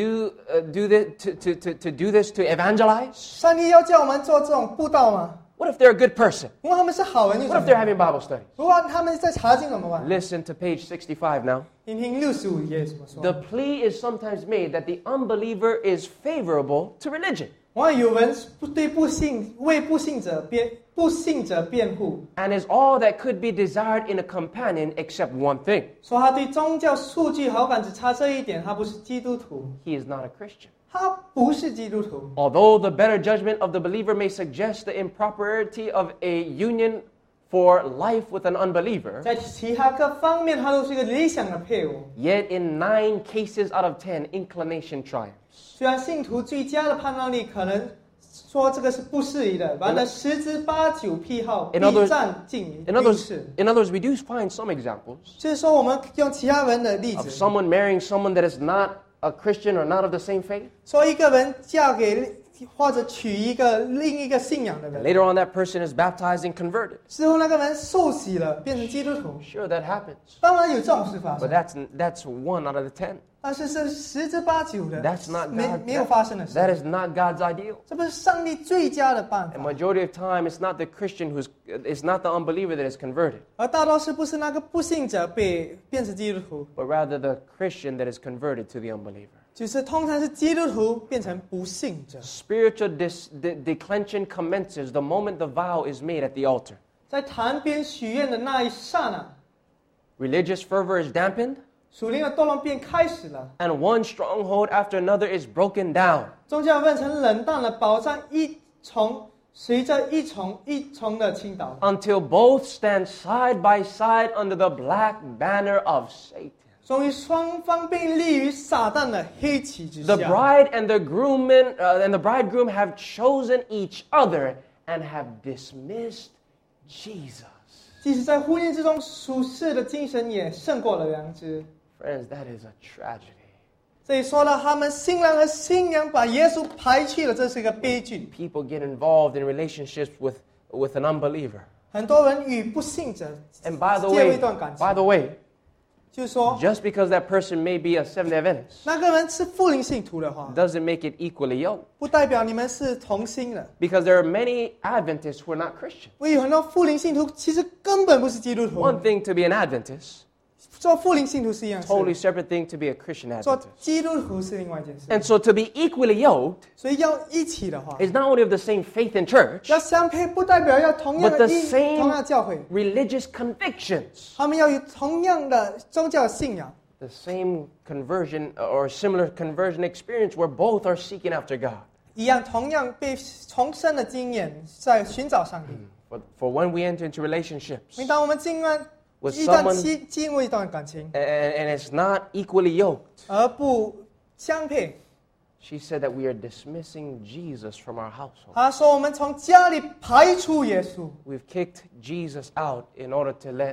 do this to evangelize? 上帝要叫我们做这种布道吗？ What if they're a good person? 如果他们是好人又 What 怎 if 么 they're 样？ having Bible studies? 如果他们在查经怎么办？ Listen to page 65 now. 听听65页怎么说。 The plea is sometimes made that the unbeliever is favorable to religion 往往有人对为不信者辩护， and is all that could be desired in a companion except one thing. 说他对宗教数据好感只差这一点，他不是基督徒， He is not a Christian. 他不是基督徒。 Although the better judgment of the believer may suggest the impropriety of a union for life with an unbeliever, 在其他各方面，他都是一个理想的配偶。 yet in 9 cases out of 10, inclination triumphs. 虽然信徒最佳的判断力可能说这个是不适宜的，完了10之8九癖好必 In other 占尽 In 优 others, 势。 in others, we do find some examples 就是说，我们用其他人的例 of 子， someone marrying someone that is not a Christian or not of the same faith. 说一个人嫁给或者娶另一个信仰的人， Later on, that person is baptized and converted. 之后那个人受洗了，变成基督徒。 Sure, that happens. 当然有这种事发 But 生， that's 1 out of the 10. 但是是10之8九的 That's not 没 God. 没有发生的事。 That is not God's ideal. 这不是上帝最佳的办 And 法， majority of time, it's not the Christian it's not the unbeliever that is converted, 而大多数不是那个不信者变成基督徒， but rather the Christian that is converted to the unbeliever. 就是通常是基督徒变成不信者。 Spiritual declension commences the moment the vow is made at the altar. 在坛边许愿的那一刹那， Religious fervor is dampened, 属灵的堕落便开始了， and one stronghold after another is broken down. 宗教变成冷淡了，保障随着一重的倾倒， Until both stand side by side under the black banner of Satan. 终于双方被立于撒旦的黑旗之 The 下。 bride and the bridegroom have chosen each other and have dismissed Jesus. 即使在婚姻之中，属世的精神也胜过了良知。 Friends, that is a tragedy. 这里说到他们新郎和新娘把耶稣排去了，这是一个悲剧。 People get involved in relationships with an unbeliever. 很多人与不信者 And by the 介入 way, 一段感情， by the way, 就是说 just because that person may be a Seventh-day Adventist 那个人是复灵信徒的话， doesn't make it equally yoked. 不代表你们是同心的。 Because there are many Adventists who are not Christian. 因为有很多复灵信徒其实根本不是基督徒。 One thing to be an Adventist, 做复灵信徒是一样事， totally separate thing to be a Christian 做 Adventist. 基督徒是另外一件事。 And so to be equally yoked 所以要一起的话， is not only of the same faith and church, 要相配，不代表要同样 but 的 the 同样的教会， religious convictions, 他们要有同样的宗教信仰， the same conversion or similar conversion experience where both are seeking after God. 一样同样被重生的经验，在寻找上帝。 For when we enter into relationships 每当我们进入 with 一段 someone 进入一段感情， and it's not equally yoked, 而不相配， she said that we are dismissing Jesus from our household. 他说我们从家里排除耶稣， We've kicked Jesus out in order to let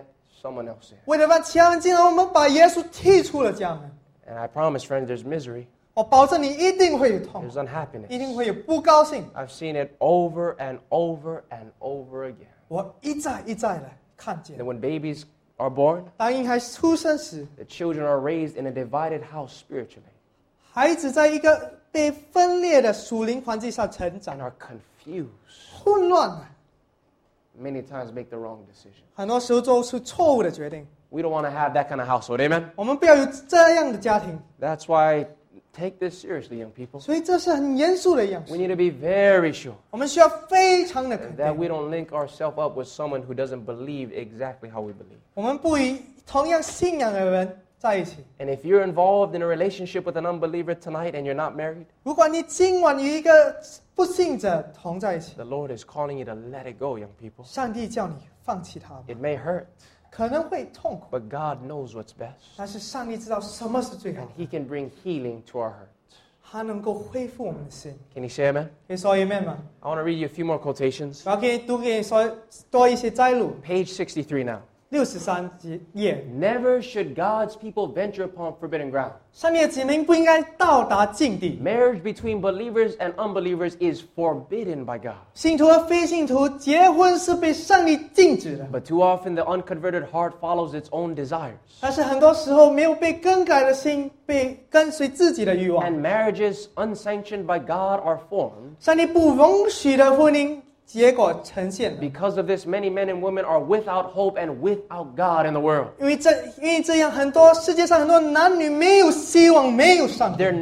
someone else in. 为了让其他人进来，我们把耶稣踢出了家门。 And I promise, friends, there's misery, 我保证你一定会有痛苦， there's unhappiness. 一定会有不高兴。 I've seen it over and over and over again. 我一再一再的看见 And，when babies are born, 当婴孩出生时， the children are raised in a divided house spiritually 孩子在一个被分裂的属灵环境下成长 and，are confused. 混乱了， Many times make the wrong decision. 很多时候做出错误的决定。 We don't want to have that kind of household, amen? 我们不要有这样的家庭， That's why take this seriously, young people. 所以这是很严肃的一样 We 事。 need to be very sure 我们需要非常的肯 that 定， we don't link ourselves up with someone who doesn't believe exactly how we believe. 我们不与同样信仰的人在一起。 And if you're involved in a relationship with an unbeliever tonight and you're not married, 如果你今晚与一个不信者同在一起， the Lord is calling you to let it go, young people. 上帝叫你放弃他吧， It may hurt, 可能会痛苦， but God knows what's best. 但是上帝知道什么是最好 And 的， He can bring healing to our hurt. 他能够恢复我们的心。 Can you say amen? 可以说 amen 吗？ I want to read you a few more quotations. 我要给你读给你说多一些摘录。 Page 63 now. 63页， Never should God's people venture upon forbidden ground. 上帝的子民不应该到达境地。 Marriage between believers and unbelievers is forbidden by God. 信徒和非信徒结婚是被上帝禁止的， But too often the unconverted heart follows its own desires. 但是很多时候没有被更改的心被跟随自己的欲望。 And marriages unsanctioned by God are formed. 上帝不容许的婚姻结果呈现了， Because of this, many men and women are without hope and without God in the world. 因为这样，很多世界上很多男女没有希望，没有上帝， Their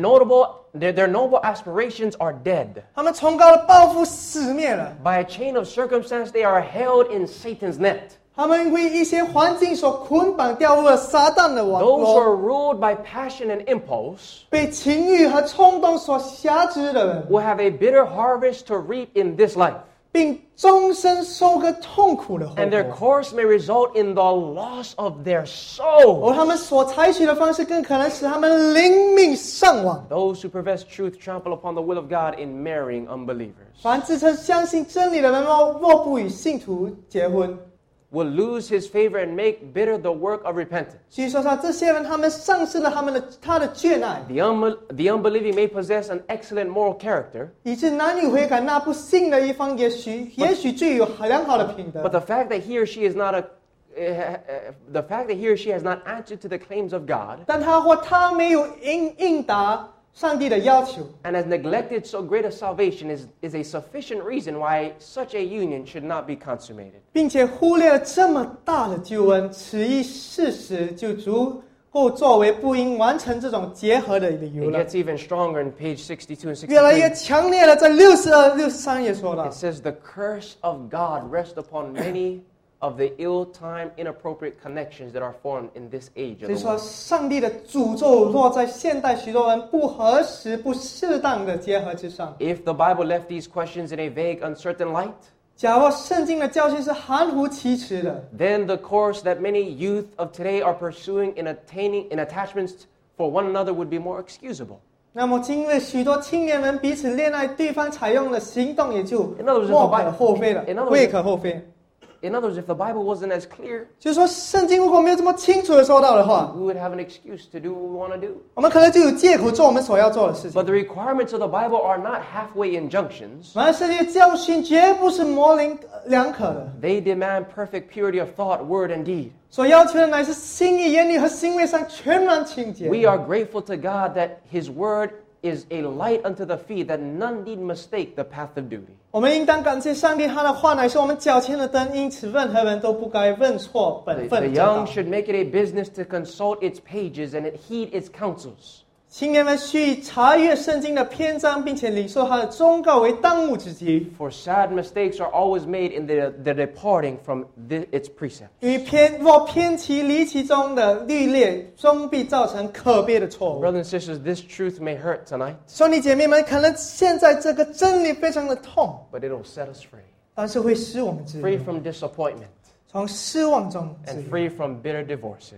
noble aspirations are dead. 他们崇高的抱负死灭了， By a chain of circumstance, they are held in Satan's net. 他们为一些环境所捆绑，掉入了撒旦的网 Those who 络， are ruled by passion and impulse 被情欲和冲动所辖制的人， will have a bitter harvest to reap in this life. 并终身收割痛苦的后 And their 果。 course may result in the loss of their soul. 而他们所采取的方式，更可能使他们灵命丧亡。 Those who profess truth trample upon the will of God in marrying unbelievers. 凡自称相信真理的人，若不与信徒结婚， Will lose his favor and make bitter the work of repentance. 据说这些人，他们丧失了他的眷爱， The unbelieving may possess an excellent moral character, 以致男女悔改，那不信的一方也许具有良好的品德 but。the fact that he or she is not the fact that he or she has not answered to the claims of God 但他或她没有应答上帝的要求， and has neglected so great a salvation is a sufficient reason why such a union should not be consummated. 并且忽略了这么大的救恩，此一事实就足够作为不应完成这种结合的理由 It 了。 gets even stronger in page 62 and 越来越 63. 强烈了，在62、63页说到 It，says the curse of God rests upon many of the ill-timed, inappropriate connections that are formed in this age 所 of 以 the 说 world. 上帝的诅咒落在现代许多人不合时、不适当的结合之上。 If the Bible left these questions in a vague, uncertain light, 假若圣经的教训是含糊其辞的， then the course that many youth of today are pursuing in attachments for one another would be more excusable. 那么今日许多青年人彼此恋爱，对方采用的行动也就 In other words, 莫可厚非了 in other，words- 未可厚非。 In other words, if the Bible wasn't as clear, 就是说，圣经如果没有这么清楚的说到的话， we would have an excuse to do what we want to do. 我们可能就有借口做我们所要做的事情 But。the requirements of the Bible are not halfway injunctions. 然而，圣经的教训绝不是模棱两可的， They demand perfect purity of thought, word, and deed. 所要求的乃是心意、言语和行为上全然清洁。 We are grateful to God that His Word is a light unto the feet, that none need mistake the path of duty. 我们应当感谢上帝，他的话乃是我们脚前的灯，因此任何人都不该认错本 The 分正道 young。should make it a business to consult its pages and heed its counsels. 青年们需查阅圣经的篇章，并且领受他的忠告为当务之急。 For sad mistakes are always made in the departing from its precept. 因为若偏其离其中的律例，终必造成可悲的错误。 Brothers and sisters, this truth may hurt tonight, 兄弟姐妹们，可能现在这个真理非常的痛， but it'll set us free. 但是会使我们自 Free 由， from disappointment 从失望中自 and 由， free from bitter divorces.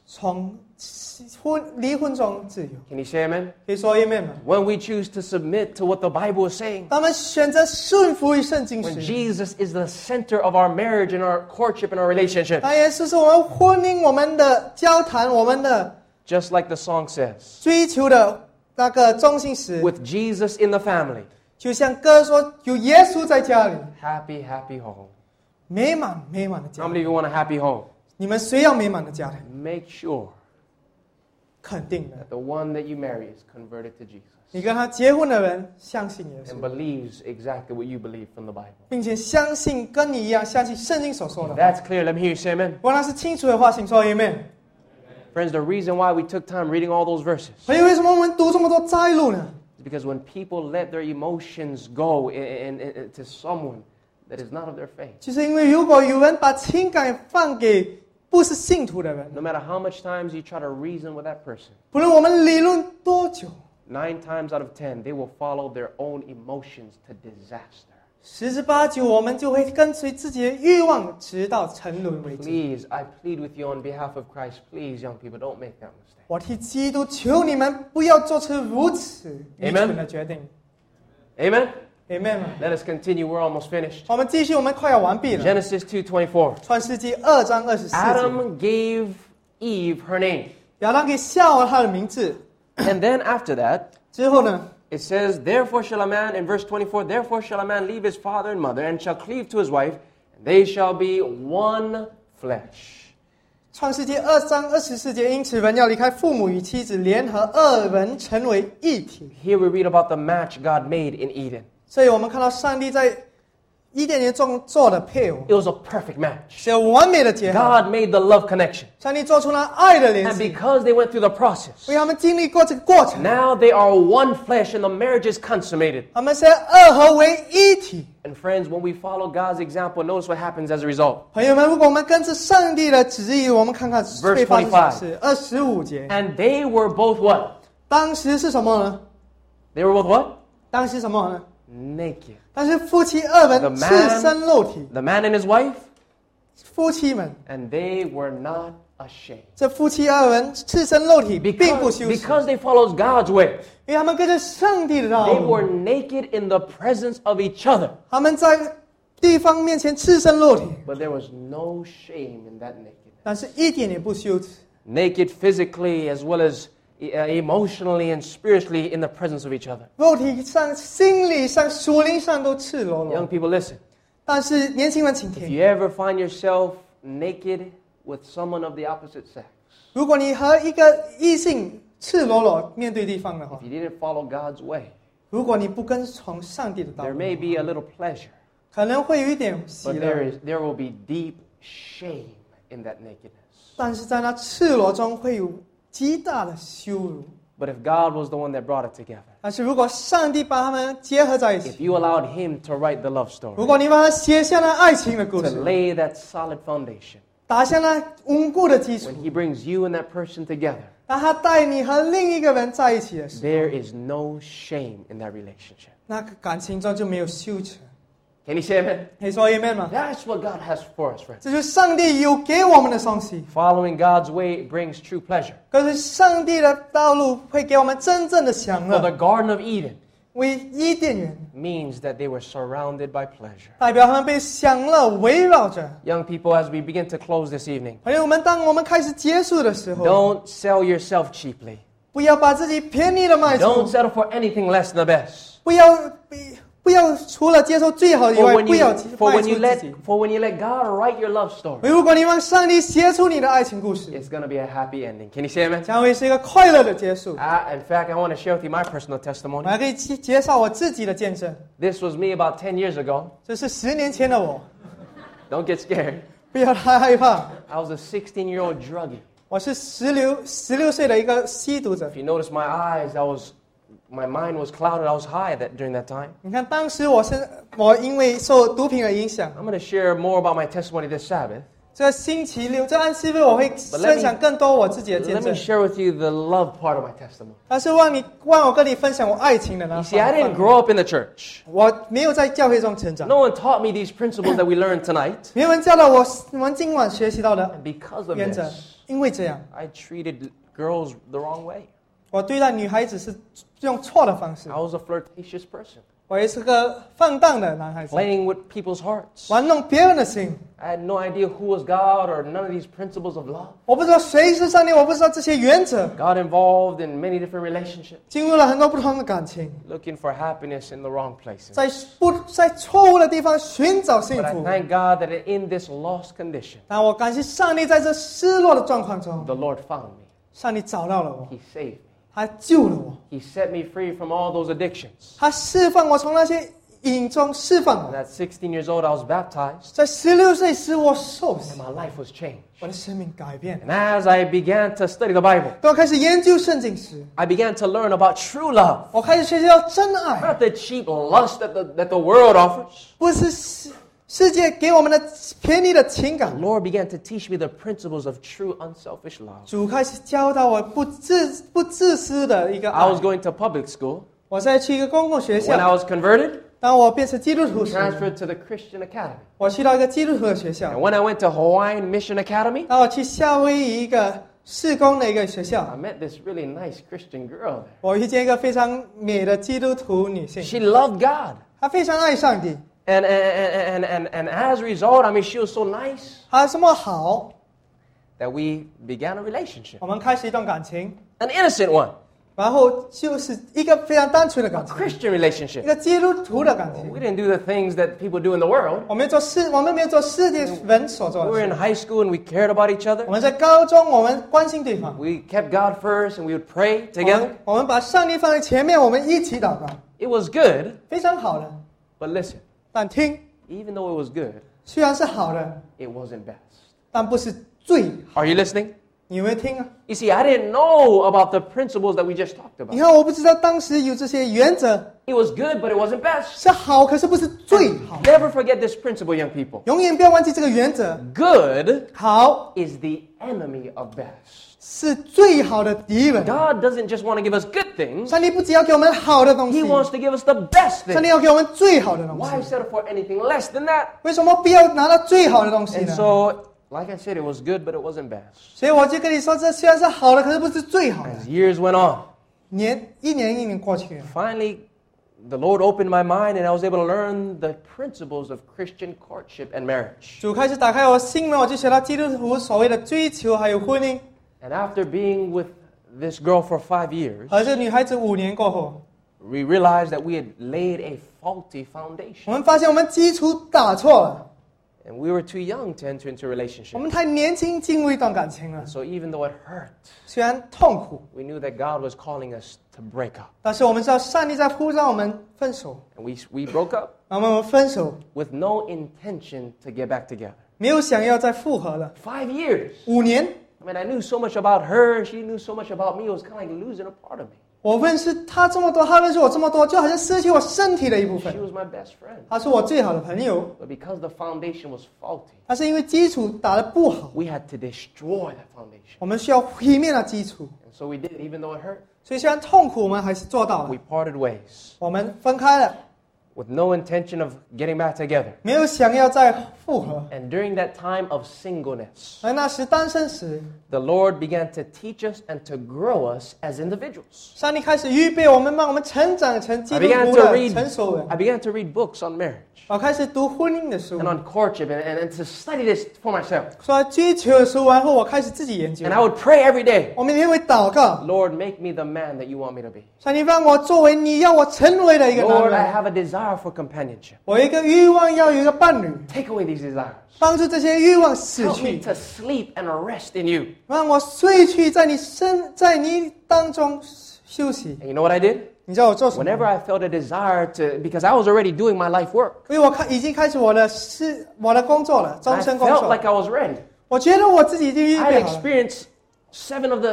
从离婚中自由。 Can you say amen? 可以说 Amen 吗？ When we choose to submit to what the Bible is saying, 当我们选择顺服于圣经 when 时， Jesus is the center of our marriage and our courtship and our relationship, 当耶稣是我们婚姻、我们的交谈、我们的 just like the song says, 追求的那个中心时， with Jesus in the family, 就像歌说，有耶稣在家里， happy, happy home. 美满的 How 家 many 庭。 of you want a happy home? 你们谁要美满的家庭？ Make sure 肯定的， that the one that you marry is converted to Jesus 你跟他结婚的人相信耶 and 稣， believes exactly what you believe from the Bible. 并且相信跟你一样相信圣经所说的 If 话。 that's clear, let me hear you say amen. 如果那是清楚的话，请说 Amen。 Friends, the reason why we took time reading all those verses 所以为什么我们读这么多摘录呢？ is because when people let their emotions go to someone that is not of their faith, 就是因为如果有人把情感放给不是信徒的人， no matter how much times you try to reason with that person, 不论我们理论多久， 9 times out of 10, they will follow their own emotions to disaster. 十之八九我们就会跟随自己的欲望，直到沉沦为止。 Please, I plead with you on behalf of Christ, please, young people, don't make that mistake. 我替基督求你们不要做出如此愚 Amen 蠢的决定。 Amen? Amen 吗？ Let us continue. We're almost finished. 我们继续，我们快要完毕了。 Genesis 2:24. 创世纪2章24节， Adam gave Eve her name. 亚当给夏娃他的名字 And then after that, 之后呢， it says, Therefore shall a man, in verse 24, Therefore shall a man leave his father and mother, and shall cleave to his wife, and they shall be one flesh. 创世纪2章24节，因此人要离开父母与妻子，联合二人成为一体。 Here we read about the match God made in Eden. 所以我们看到上帝在伊甸园中做的配偶， It was a perfect match. 是有完美的结合。 God made the love connection. 上帝做出了爱的联 And 系， because they went through the process, 为他们经历过这个过程， now they are one flesh and the marriage is consummated. 他们是二合为一体。 And friends, when we follow God's example, notice what happens as a result. 朋友们，如果我们跟着上帝的旨意，我们看看 Verse 会发生什么事。25节， And they were both what? 当时是什么呢？ They were both what? 当时什么呢？ Naked. 但是夫妻二 The 人 man- 赤身露体， The man and his wife, 夫妻们， and they were not ashamed. 这夫妻二人赤身露体，并不羞耻， Because they followed God's way. 因为他们跟着上帝的道 They were 路， naked in the presence of each other. 他们在对方面前赤身露体， But there was no shame in that nakedness. 但是一点也不羞耻。 Naked physically as well as emotionally and spiritually in the presence of each other. 肉体上、心理上、属灵上都赤裸 Young 裸。 people, listen. 但是年轻人请 If 听， you ever find yourself naked with someone of the opposite sex, 如果你和一个异性赤裸裸面对对方的话 if，you didn't follow God's way, 如果你不跟从上帝的道 there 路， may be a little pleasure, 可能会有一点喜 but 乐， there will be deep shame in that nakedness. 但是在那赤裸中会有极大的羞辱。 But if God was the one that brought it together, 但是如果上帝把他们结合在一 if 起， you allowed Him to write the love 如 story, 果你把它写下那爱情的故 to 事， lay that solid foundation, 打下那稳固的基础 when，He brings you and that person together, 当他带你和另一个人在一起的时候， there is no shame in that relationship. 那个感情中就没有羞耻。 Can you say amen? 可以说 Amen 吗？ That's what God has for us, friends. 这就是上帝有给我们的东西。 Following God's way brings true pleasure. 可是上帝的道路会给我们真正的享 For the 乐。 Garden of Eden 为伊甸园 means that they were surrounded by pleasure. 代表他们被享乐围绕着。 Young people, as we begin to close this evening, 朋友们，当我们开始结束的时候， don't sell yourself cheaply. 不要把自己便宜的卖 Don't 出， settle for anything less than the best. 不要除了接受最好的以 For 外， when 不要 you, for 卖 when 出 you 自 let 己。 for when you let God write your love story, 如果你让上帝写出你的爱情故事， it's going to be a happy ending. Can you say amen? 将会是一个快乐的结束。 In fact, I want to share with you my personal 我 testimony. 还可以介绍我自己的见证， This was me about 10 years ago. 这是10年前的我， Don't get scared. 不要太害怕。 I was a 16-year-old druggie. 我是16岁的一个吸毒者 If。you notice my eyes, my mind was clouded. I was high during that time. 你看，当时我因为受毒品的影响， I'm going to share more about my testimony this Sabbath. 这星期六，这安息日我会 let me- 分享更多我自己的见 Let me 证。 share with you the love part of my testimony. 但是让我跟你分享我爱情的那 You see, I 方 didn't 面。 grow up in the church. 我没有在教会中成长， No one taught me these principles that we learned tonight. 没有人教导我们今晚学习到的 And because of 原则 this,。 因为这样， I treated girls the wrong way. 我对待女孩子是用错的方式 I。was a flirtatious person, 我也是个放荡的男孩子， playing with people's hearts. 玩弄别人的心。 I had no idea who was God or none of these principles of love. 我不知道谁是上帝，我不知道这些原则， Got involved in many different relationships, 进入了很多不同的感情， looking for happiness in the wrong places. 在错误的地方寻找幸 But I 福。 thank God that in this lost condition, 但我感谢上帝，在这失落的状况中， the Lord found me. 上帝找到了我， He saved me. 他救了我， He set me free from all those addictions. 他释放我从那些瘾中释放 And 我。 at 16 years old, I was baptized, 在16岁时，我受洗 and，my life was changed. 我的生命改变。 And as I began to study the Bible, 当我开始研究圣经时， I began to learn about true love, 我开始学习到真爱， not the cheap lust that the world offers. 不是世界给我们的便宜的情感 The。Lord began to teach me the principles of true unselfish love. 主开始教导我不自私的一个 I was 爱。 going to public school. 我在去一个公共学 When I 校， was converted, 当我变成基督徒时， transferred to the Christian Academy. 我去到一个基督徒的学校 And。when I went to Hawaiian Mission Academy, 当我去夏威夷一个事工的一个学 I 校， met this really nice Christian girl there. 我遇见一个非常美的基督徒女性， She loved God. 她非常爱上帝， And as a result, I mean, she was so nice 她这么好， that we began a relationship. 我们开始一段感情， An innocent one, 然后就是一个非常单纯的 a 感情， Christian 一 relationship. 个基督徒的感情。 We didn't do the things that people do in the world. 我们没有做世界人所做 We 的 were 事。 in high school and we cared about each 我 other. 们在高中，我们关心对方， We kept God first and we would pray together. 我们把上帝放在前面，我们一起祷告， It was good, 非常好的。 but listen, 但听， even though it was good, 虽然是好的， it wasn't best. 但不是最好。 Are you listening? 你有没有听啊？ You see, I didn't know about the principles that we just talked 你 about. 看，我不知道当时有这些原则 It was good, but it wasn't best. 是好，可是不是最好。 Never forget this principle, young people. 永远不要忘记这个原则， Good 好 is the enemy of best. 是最好的敌人。 God doesn't just want to give us good things, 上帝不只要给我们好的东 He 西， wants to give us the best 上帝 things. 要给我们最好的东 Why 西。 settle for anything less than that? 为什么不要拿到最好的东西 And 呢？ so, like I said, it was good, but it wasn't best. 所以我就跟你说，这虽然是好的，可是不是最好的。 As years went on, 一年过去了， finally, the Lord opened my mind and I was able to learn the principles of Christian courtship and marriage. 主开始打开我心门，我就学到基督徒所谓的追求还有婚姻。 And after being with this girl for 5 years, 和这女孩子5年过后， we realized that we had laid a faulty 我 foundation. 们发现我们基础打错了， And we were too young to enter into a 我 relationship. 们太年轻进入一段感情了。 So even though it hurt, 虽然痛苦， we knew that God was calling us to break up. 但是我们知道上帝在呼召我们分手。 And we broke up 然后我们分手， with no intention to get back together. 没有想要再复合了。 5 years. 5年， I mean, I knew so much about her, and she knew so much about me. It was kind of like losing a part of me. 我认识他这么多，他认识我这么多，就好像失去我身体的一部 She 分。 was my best friend. 他是我最好的朋友， But because the foundation was faulty, 但是因为基础打得不好， we had to destroy that foundation. 我们需要毁灭那基础。 And so we did, even though it hurt. 所以虽然痛苦，我们还是做到了 We。parted ways 我们分开了， with no intention of getting back together. 没有想要再复合。 And during that time of singleness, 而那时单身时， the Lord began to teach us and to grow us as individuals. 上帝开始预备我们，让我们成长成基 I 督 began 徒 to 的 read, 成熟人。 I began to read books on marriage 我开始读婚姻的书 and，on courtship and to study this for myself. 所以追求的书完后，我开始自己研究 And。I would pray every day, 我每天会祷告， Lord, make me the man that you want me to be. 上帝让我作为你要我成为的一个男 Lord, I 人。 have a desire for companionship. 我有一个欲望要有一个伴侣， Take away these desires. 帮助这些欲望死 Help me 去， to sleep and rest in you. 让我睡去，在你当中休息。 And you know what I did? 你知道我做什么？ Whenever I felt a desire to, because I was already doing my life work, 因为已经开始我的工作了，终 I 身工 felt 作。 like I was ready. 我觉得我自己已经预 I 备 had 好了， experienced 7 of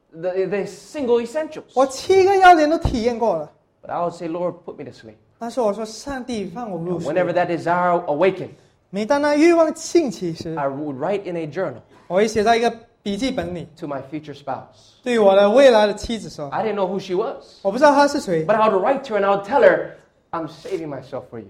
the single essentials. 我7个要点都体验过了。 But I would say, Lord, put me to sleep. 但是我说，上帝让我入睡。 Whenever that desire awakened, 每当那欲望兴起时， I would write in a journal 我会写在一个笔记本里， to my future spouse. 对我的未来的妻子说， I didn't know who she was, 我不知道她是谁， but I would write to her and I would tell her, I'm saving myself for you.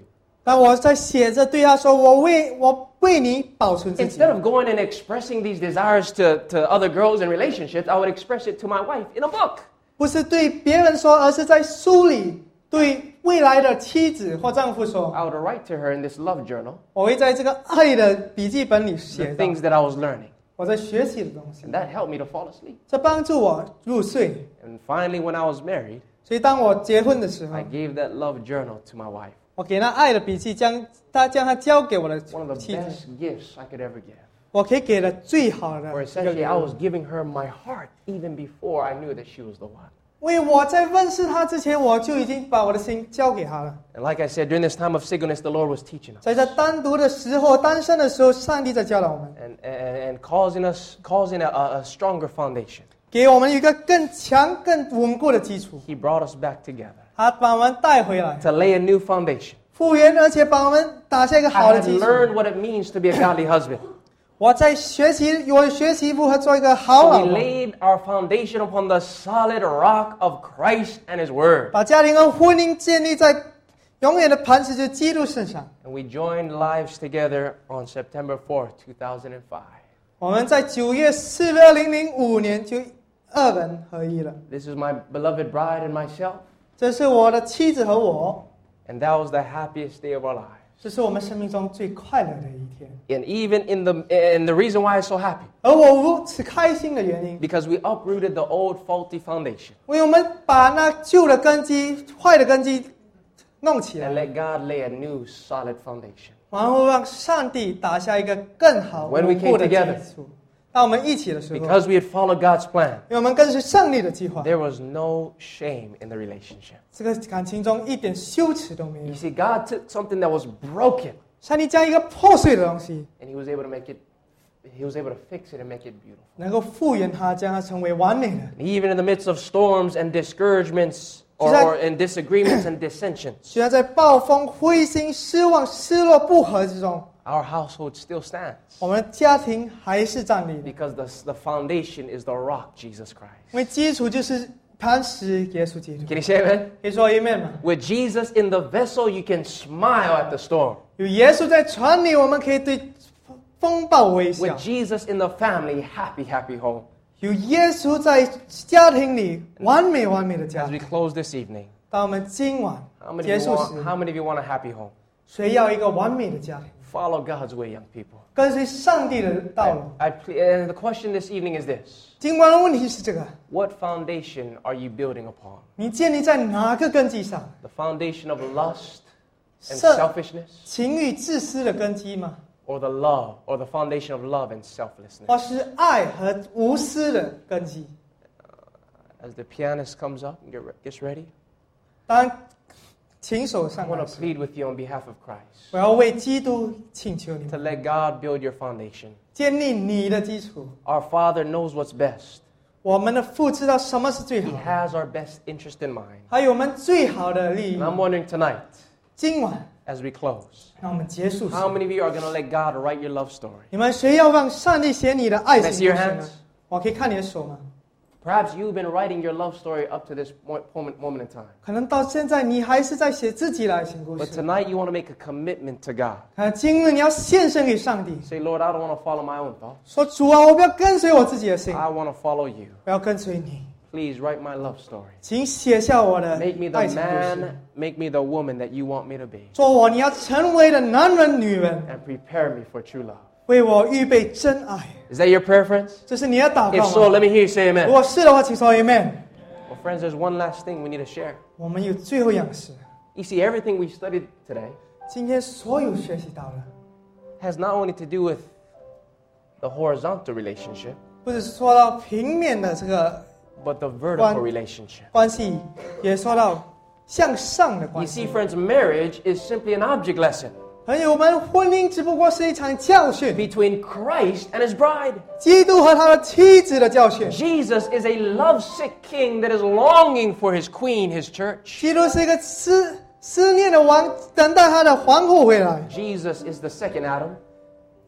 当我在写着对他说，我为你保存自己。 Instead of going and expressing these desires to other girls in relationships, I would express it to my wife in a book. 不是对别人说，而是在书里对未来的妻子或丈夫说。 I would write to her in this love journal 我会在这个爱的笔记本里 the 写到 things that I was learning. 我在学习的东西， And that helped me to fall asleep. 这帮助我入睡。 And finally, when I was married, 所以当我结婚的时候 I，gave that love journal to my wife. 我给那爱的笔记，将它交给我的 One of the 妻子。 best gifts I could ever give. 我可以给的最好的 Where 一个 essentially 礼 I 物 was giving her my heart even before I knew that she was the one. 因为我在认识他之前，我就已经把我的心交给他了。 And like I said, during this time of singleness, the Lord was teaching us 在这单独的时候、单身的时候，上帝在教导我们， and causing a stronger foundation. 给我们一个更强、更稳固的基础。 He brought us back together 他把我们带回来， to lay a new foundation. 复原，而且把我们打下一个 I 好的 had 基础。 learned what it means to be a godly husband. 我学习如何做一个好 So 老 we 公， laid our foundation upon the solid rock of Christ and His Word. 把家庭和婚姻建立在永远的磐石，就是基督身上。 And we joined lives together on September 4th, 2005. 我们在9月4日2005年就二人合一了。 This is my beloved bride and myself. 这是我的妻子和我， And that was the happiest day of our lives. 这是我们生命中最快乐的一天。 And even and the reason why I'm so happy, 而我如此开心的原因， because we uprooted the old faulty foundation 因为我们把那旧的根基、坏的根基弄起 and 来， let God lay a new solid foundation. 然后让上帝打下一个更好 When we 稳固的 came together 基础。当我们一起的时候， Because we had followed God's plan, 因为我们跟随上帝的计划， there was no shame in the relationship. 这个感情中一点羞耻都没 You 有。 see, God took something that was broken 上帝将一个破碎的东西， and He was able to fix it and make it beautiful. 能够复原它，将它成为完美的。 And even in the midst of storms and discouragements or in disagreements and dissensions, 虽然在暴风、灰心、失望、失落、不和之中， our household still stands 我们的家庭还是站立的， because the foundation is the rock, Jesus Christ. 因为基础就是磐石耶稣基督。 Can you say amen? 可以说 Amen 吗？ With Jesus in the vessel, you can smile at the storm. 有耶稣在船里，我们可以对风暴微笑 With；Jesus in the family, happy, happy home. 有耶稣在家庭里，完美的家 As we 庭。 close this evening, 当我们今晚 how many 结 of you 束 want, 时， how many of you want a happy home? 谁要一个完美的家庭？ Follow God's way, young people. 跟随上帝的道路。 And the question this evening is this. 今晚的问题是这个： What foundation are you building upon? 你建立在哪个根基上？ The foundation of lust and 是 selfishness? 情欲自私的根基吗？ Or the foundation of love and selflessness? 或是爱和无私的根基？ As the pianist comes up and gets ready, 当琴手 I 上 want 来 to 时， plead with you on behalf of Christ 我要为基督请求你 to 们 let God build your foundation. 建立你的基础。 Our Father knows what's best. 我们的父知道什么是最 He 好的， has our best interest in mind. 还有我们最好的利益 And。I'm wondering tonight, 今晚， as we close, 让我们结束时， how many of you are going to let God write your love story? 你们谁要让上帝写你的爱 Can I 情 see your 故事呢 hands?？ 我可以看你的手吗？ Perhaps you've been writing your love story up to this moment in time. 可能到现在你还是在写自己的爱情故 But 事。 tonight you want to make a commitment to God. 今日你要献身给上帝， Say, Lord, I don't want to follow my own thoughts. 说主啊，我不要跟随我自己的心， I want to follow you. 我要跟随你。 Please write my love story. 请写下我的 Make me the 爱情故事， man, make me the woman that you want me to be. 做我你要成为的男人、女人， And prepare me for true love. 为我预备真爱。 Is that your prayer, friends? 这是你的祷 If 告 so, 吗？ let me hear you say 如 amen. 果是的话，请说 Amen。 Well, friends, there's one last thing we need to share. 我们有最后一样事， You see, everything we studied today 今天所有学习到的， has not only to do with the horizontal relationship, 不是说到平面的这个 but the vertical relationship. 关系，也说到向上的 You 关 see, 系。 friends, marriage is simply an object lesson 朋友们，婚姻只不过是一场教训， between Christ and his bride. 基督和他的妻子的教训。 Jesus is a lovesick king that is longing for his queen, his church. 基督是一个思念的王，等待他的皇后回来。 Jesus is the second Adam,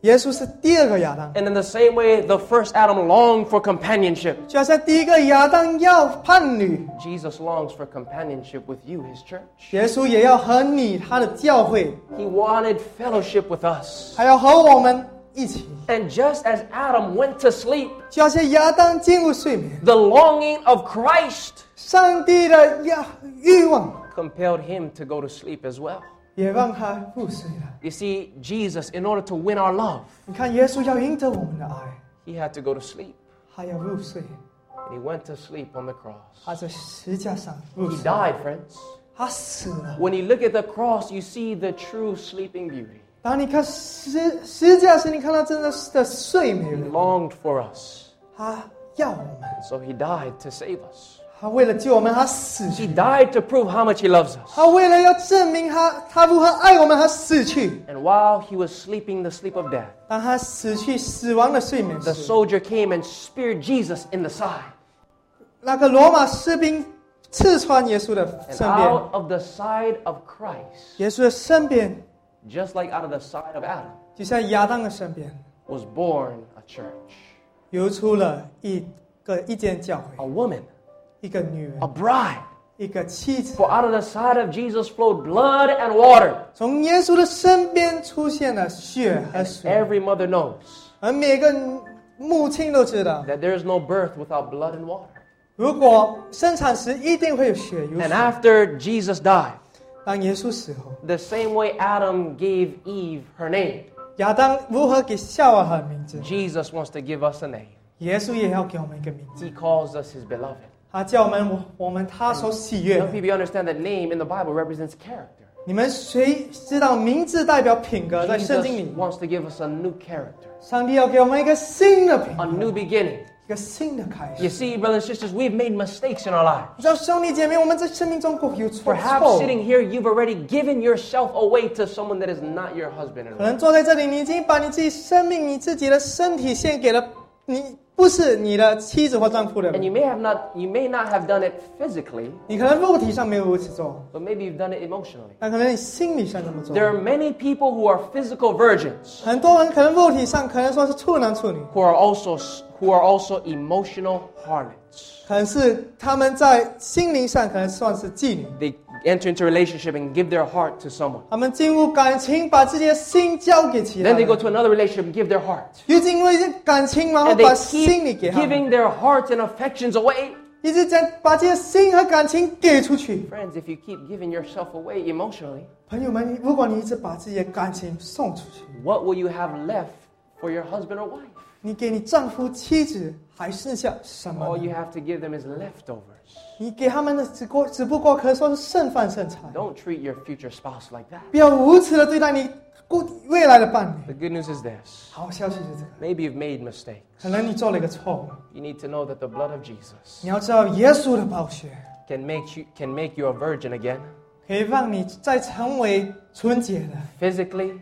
耶稣是第二个亚当， And in the same way, the first Adam longed for companionship. 就好像第一个亚当要伴侣， Jesus longs for companionship with you, his church. 耶稣也要和你他的教会， He wanted fellowship with us. 还要和我们一起。 And just as Adam went to sleep, 就好像亚当进入睡眠， the longing of Christ 上帝的欲望 compelled him to go to sleep as well. 也让他入睡了。 You see, Jesus, in order to win our love, 你看，耶稣要赢得我们的爱， he had to go to sleep. 他要入睡， And he went to sleep on the cross. 他在十架上入 He 睡， died, friends. 他死了。 When you look at the cross, you see the true sleeping beauty. 当你看十架时，你看到真的睡美 He 人， longed for us. 他要我们， So he died to save us. 他为了救我们，他死 He 去。 died to prove how much he loves us. 他为了要证明他如何爱我们，他死去。 And while he was sleeping the sleep of death, 当他死亡的睡眠 the 时， soldier came and speared Jesus in the side. 那个罗马士兵刺穿耶稣的 And 身边， out of the side of Christ, 耶稣的身边 just like out of the side of Adam, 就像亚当的身边， was born a church. 流出了一间教 A 会， woman, 一个女人 a，bride. 一个妻子。 For out of the side of Jesus flowed blood and water. 从耶稣的身边出现了血和水， Every mother knows 而每个母亲都知道， that there is no birth without blood and water. 如果生产时一定会有血有 And 水。 after Jesus died, 当耶稣死后， the same way Adam gave Eve her name, 亚当如何给夏娃和名字， Jesus wants to give us a name. 耶稣也要给我们一个名字。 He calls us his beloved. 他叫我们他所喜悦 Young 的。 people, you understand that name in the Bible represents character. 你们谁知道名字代表品格？在圣 Jesus 经里， wants to give us a new character, 上帝要给我们一个新的品 a 格， new beginning. 一个新的开 You 始。 see, brothers and sisters, we've made mistakes in our lives. 你知道兄弟姐妹，我们在生命中有错 Perhaps sitting here, you've already given yourself away to someone that is not your husband and 可 wife. 能坐在这里，你已经把你自己生命、你自己的身体献给了你不是你的妻子或丈夫的 And 人。 you may not have done it physically, 你可能肉体上没有如此做， but maybe you've done it emotionally. 但可能你心理上这么做。 There are many people who are physical virgins 很多人可能肉体上可能说是处男处女， who are also emotional harlots. 可能是他们在心灵上可能算是妓女。 They enter into a relationship and give their heart to someone. 他们进入感情，把自己的心交给其他 Then they go 人， to another relationship and give their heart. 又进入一些感情，然后 And 把 they 心里 keep 给他们， giving their hearts and affections away. 一直在把这些心和感情给出去。 Friends, if you keep giving yourself away emotionally, 朋友们，如果你一直把自己的感情送出去， what will you have left for your husband or wife? 你给你丈夫、妻子还剩下什么 All you 呢？ have to give them is leftovers. 你给他们的只不过可以说是剩饭剩菜。 Don't treat your future spouse like that. 不要如此的对待你未来的伴侣。 The good news is this. 好消息是这个， Maybe you've made mistakes. 可能你做了一个错误， You need to know that the blood of Jesus 你要知道耶稣的宝血 can make you a virgin again, 可以让你再成为纯洁的， physically,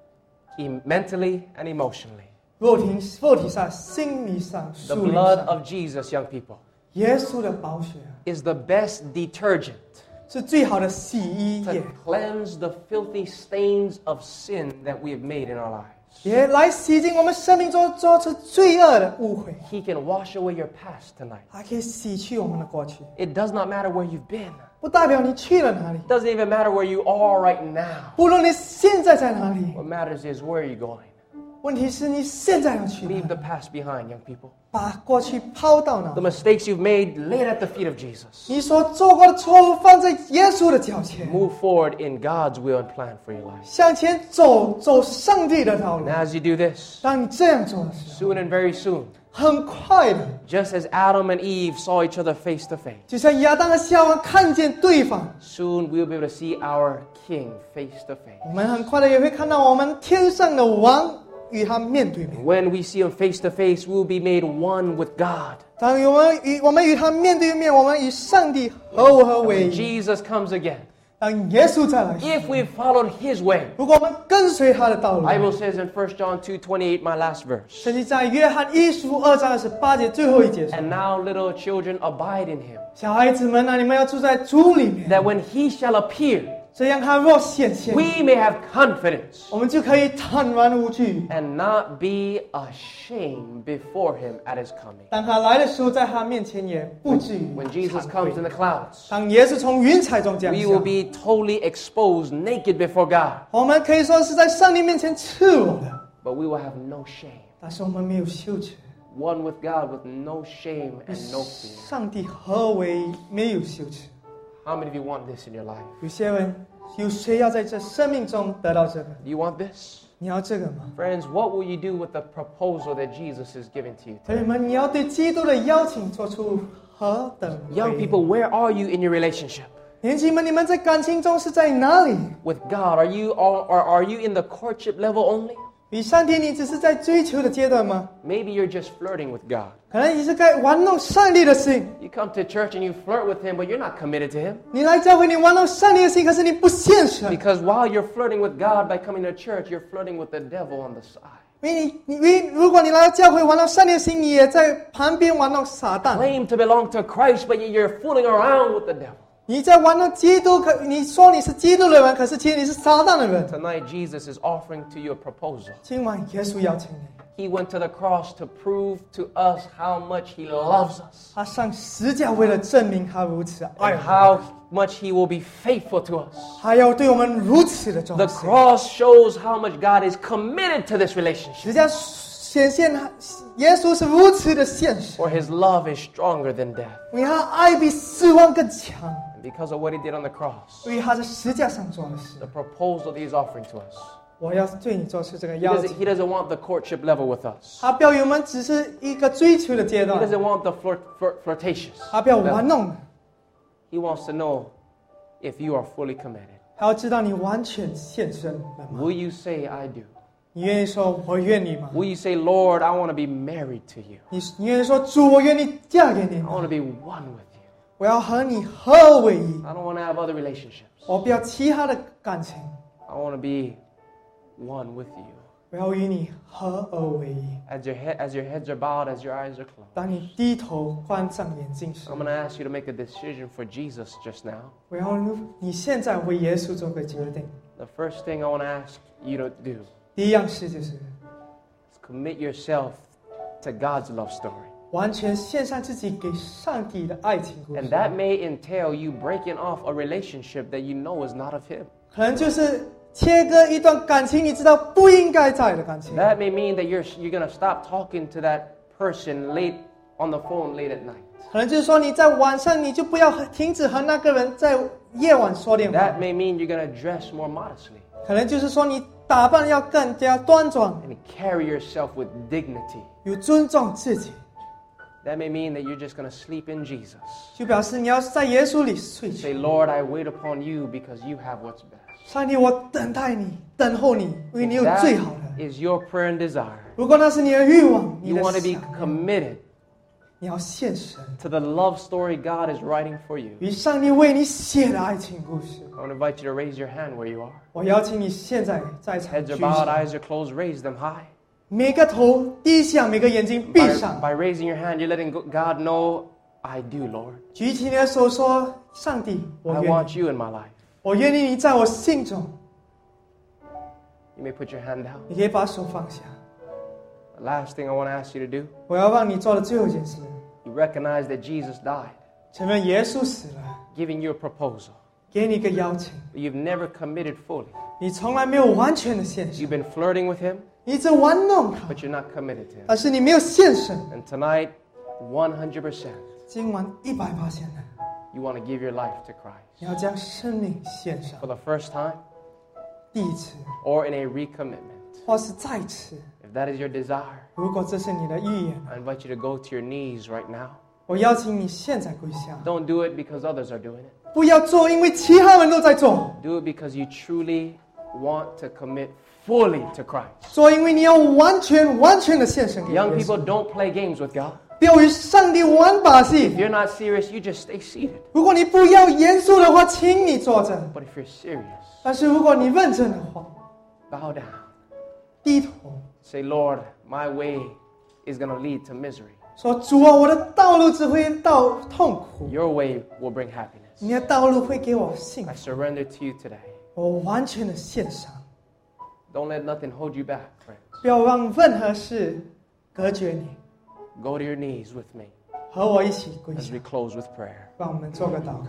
mentally, and emotionally. 肉体上、心理上、 The 属灵 blood 上。 of Jesus, young people, 耶稣的宝血 is the best detergent 是最好的洗衣 to 液， cleanse the filthy stains of sin that we have made in our lives. 也来洗净我们生命中做出罪恶的污秽， He can wash away your past tonight. 还可以洗去我们的过去。 It does not matter where you've been. 不代表你去了哪里， It doesn't even matter where you are right now. 不论你现在在哪里， What matters is where are you going? 问题是你现在要去哪 Leave 里， the past behind, young people. 把过去抛到哪 The 里。 mistakes you've made, lay it at the feet of Jesus. 你所做过的错误放在耶稣的脚前， Move forward in God's will and plan for your life. 向前走上帝的道路 And。as you do this, 当你这样做的时候， soon and very soon, 很快的， just as Adam and Eve saw each other face to face, 就像亚当和夏娃看见对方， soon we'll be able to see our King face to face. 我们很快的也会看到我们天上的王与他面对面。 When we see him face to face, we'll be made one with God. 当我们与他面对面，我们与上帝合为 When 一。 Jesus comes again, 当耶稣再来时， if we've followed his way, 如果我们跟随他的道路， Bible says in 1 John 2:28, my last verse, 甚至在约翰一书2章28节最后一节说 and now little children abide in him, 小孩子们啊，你们要住在主里面， that when he shall appear, 这样他若显现， we may have confidence 我们就可以坦然无惧。 and not be ashamed before him at his coming. 当他来的时候，在他面前也不至于 When Jesus 惭 comes 愧 in the clouds, 当耶稣从云彩中降 we will 下， be totally exposed, naked before God, 我们可以说是在上帝面前赤裸的， but we will have no shame. 但是我们没有羞耻。 One with God with no shame 与 and no fear. 上帝合为，没有羞耻。 How many of you want this in your life? 有些人，有谁要在这生命中得到这个？ Do you want this? 你要这个吗？ Friends, what will you do with the proposal that Jesus is giving to you 朋友 today? 们，你要对基督的邀请做出何等回 Young 应 people, where are you in your relationship 年轻们，你们在感情中是在哪里？ with God? Are you in the courtship level only? 与上帝，你只是在追求的阶段吗？ Maybe you're just flirting with God. 可能你是在玩弄上帝的心。 You come to church and you flirt with him, but you're not committed to him. 你来教会，你玩弄上帝的心，可是你不现实。 Because while you're flirting with God by coming to church, you're flirting with the devil on the side. 因为如果你来到教会玩弄上帝的心，你也在旁边玩弄撒旦。 Claim to belong to Christ, but you're fooling around with the devil. 你在玩弄基督，你说你是基督的人，可是其实你是撒旦的人。 Tonight, Jesus is offering to you a proposal. 今晚耶稣邀请你， He went to the cross to prove to us how much he loves us 他上十架为了证明他如此爱 and 我们， how much he will be faithful to us. 还要对我们如此的忠 The 心。 cross shows how much God is committed to this relationship. 十架显现耶稣是如此的现实， For his love is stronger than death. 因为他爱比死亡更强， And because of what he did on the cross, 因为他在十架上做的事。 the proposal that he's offering to us. 我要对你做出这个 He 邀 doesn't, 请。 he doesn't want the courtship level with us. 他不要我们只是一个追求的阶 He 段， doesn't want the flirtatious. 他不要玩 level. 弄的， He wants to know if you are fully committed. 他要知道你完全献身了吗？ Will you say, I do? 你愿意说我愿意吗？ Will you say, Lord, I want to be married to you? 你愿意说主，我愿意嫁给你 I 吗？ want to be one with you. 我要和你合为一， I don't want to have other relationships. 我不要其他的感情， I want to be one with you. 我要与你合而为一。 As your heads are bowed, as your eyes are closed, 当你低头关上眼睛时 I'm，going to ask you to make a decision for Jesus just now. 我要你现在为耶稣做个决定。 The first thing I want to ask you to do 第一样事就是 is commit yourself to God's love story. 完全献上自己给上帝的爱情故 And 事， that may entail you breaking off a relationship that you know is not of Him. 可能就是切割一段感情，你知道不应该在的感情。 That may mean that you're going to stop talking to that person late on the phone late at night. 可能就是说你在晚上你就不要停止和那个人在夜晚说电话。 That may mean you're going to dress more modestly 可能就是说你打扮要更加端庄， and carry yourself with dignity. 有尊重自己， That may mean that you're just going to sleep in Jesus. 就表示你要在耶稣里睡去。 Say, Lord, I wait upon you because you have what's best. 上帝，我等待你，等候你，因为你有最好的。 That is your prayer and desire. 如果那是你的欲望，你 You 的 want to be 想念， committed 你要献身， to the love story God is writing for you. 与上帝为你写的爱情故事。 I want to invite you to raise your hand where you are. 我邀请你现在在场 Heads 举 are bowed, 手， eyes are closed, raise them high. 每个头低下，每个眼睛闭 By, 上， by raising your hand, you're letting God know, I do, Lord. 举起你的手说：“上帝，我 I 愿 want 意， you in my life. 我愿意你在我心中。 You may put your hand down. 你可以把手放下。 The last thing I want to ask you to do, 我要让你做的最后一件事， you recognize that Jesus died, 承认耶稣死了， giving you a proposal. 给你一个邀请， But you've never committed fully. 你从来没有完全的献身， You've been flirting with him, 你一直玩弄他， but you're not committed to him. 但是你没有献身。 And tonight, 100%, 今晚100%的， you want to give your life to Christ. 你要将生命献上 For，the first time 第一次， or in a recommitment. 或是再次。 If that is your desire, 如果这是你的意愿， I invite you to go to your knees right now. 我邀请你现在跪下， Don't do it because others are doing it. 不要做，因为其他人都在做。 Do it because you truly want to commit fully to Christ. 做，因为你要完全的献身给耶 Young 稣。 people, don't play games with God. 不要与上帝玩把 If 戏。 you're not serious, you just stay seated. 如果你不要严肃的话，请你坐着； But if you're serious, 但是如果你认真的话， bow down. 低头 Say, Lord, my way is going to lead to misery. 说：“主啊，我的道路只会到痛苦， Your way will bring happiness. 你的道路会给我幸 I 福。 surrender to you today. 我完全的献上， Don't let nothing hold you back, friends. 不要让任何事隔绝你。 Go to your knees with me 和我一起跪 as 下 we，close with prayer. 让我们做个祷告。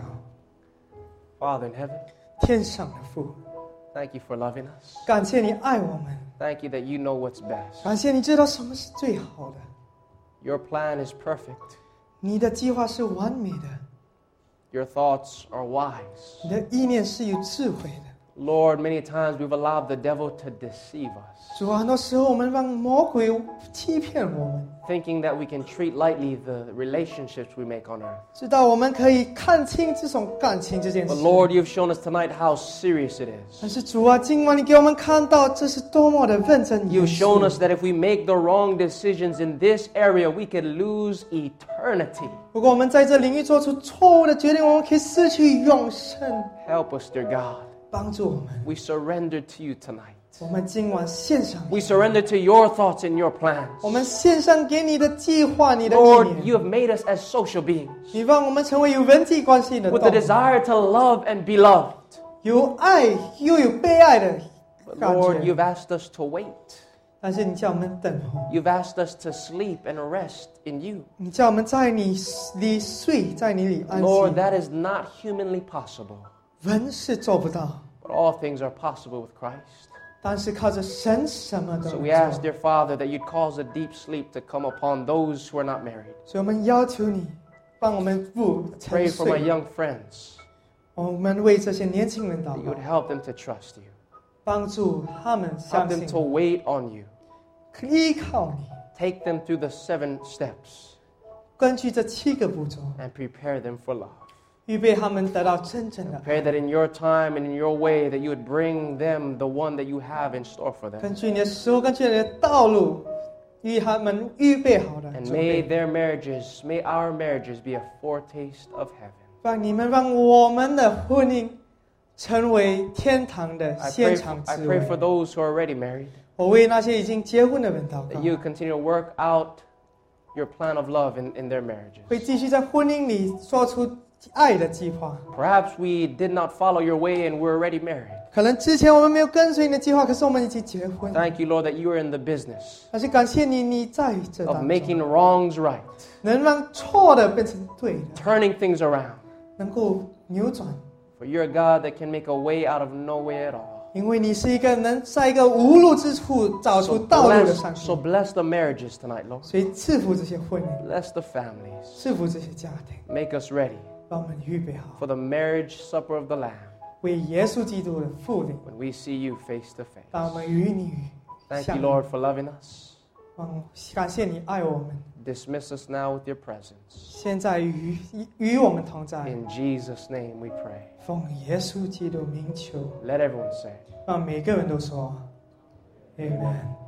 Father in heaven, 天上的父， thank you for loving us. 感谢你爱我们， Thank you that you know what's best. 感谢你知道什么是最好的， Your plan is perfect. 你的计划是完美的， Your thoughts are wise. 你的意念是有智慧的。 Lord, many times we've allowed the devil to deceive us, 主啊，很多时候我们让魔鬼欺骗我们， thinking that we can treat lightly the relationships we make on earth. 知道我们可以看清这种感情这件 But 事。 Lord, you've shown us tonight how serious it is. 但是主啊，今晚你给我们看到这是多么的认真严 You've 肃。 shown us that if we make the wrong decisions in this area, we could lose eternity. 如果我们在这领域做出错误的决定，我们可以失去永生。 Help us, dear God. 帮助我们， We surrender to you tonight. 我们今晚献上， We surrender to your thoughts and your plans. 我们献上给你的计划，你的意 Lord, 念。 you have made us as social beings 你让我们成为有人际关系的 with 动 the 物， desire to love and be loved. 有爱又有被爱的 But 感 Lord, 觉。 you've asked us to wait. 但是你叫我们等候， You've asked us to sleep and rest in you. 你叫我们在你里睡，在你里安 Lord, 息。 that is not humanly possible. 人是做不到， But all things are possible with Christ. 但是靠着神什么都 So 能 we ask, 做。 dear Father, that you'd cause a deep sleep to come upon those who are not married. 所以我们要求你帮我们不沉 Pray for my 睡。 young friends 我们为这些年轻人祷 that you 告 would，help them to trust you. 帮助他们 Help 相 them 信 to wait on you. 依靠你。 Take them through the 7 steps 根据这7个步骤， and prepare them for love. 预备他们得到真正的爱。 Pray that in your time and in your way that you would bring them the one that you have in store for them. 根据你的时候，根据你的道路，与他们预备好的 And 准 may 备， their marriages, may our marriages be a foretaste of heaven. 让我们的婚姻成为天堂的 I 现 pray, 场 I 之 pray for 味。 those who are already married 我为那些已经结婚的人祷 that 告， you continue to work out your plan of love in their marriages. 会继续在婚姻里说出爱的计划。 Perhaps we did not follow your way and we're already married. 可能之前我们没有跟随你的计划，可是我们已经结婚。 Thank you, Lord, that you are in the business 但是感谢你，你在这 of 当 making 中， wrongs right, 能让错的变成对的， turning things around. 能够扭转。 For you're a God that can make a way out of no way at all. 因为你是一个能在一个无路之处找出道路的上 So 帝， bless the marriages tonight, Lord. 所以赐福这些婚姻， Bless the families. 赐福这些家庭， Make us ready 帮我们预备好， for the marriage supper of the Lamb 为耶稣基督的复临， when we see you face to 让我 face. 们与你 Thank 相 you, 遇。 Lord, for loving us. 感谢你爱我们， Dismiss us now with your presence. 现在与我们同在， In Jesus' name we pray. 奉耶稣基督名求， Let everyone say. 让每个人都说，Amen。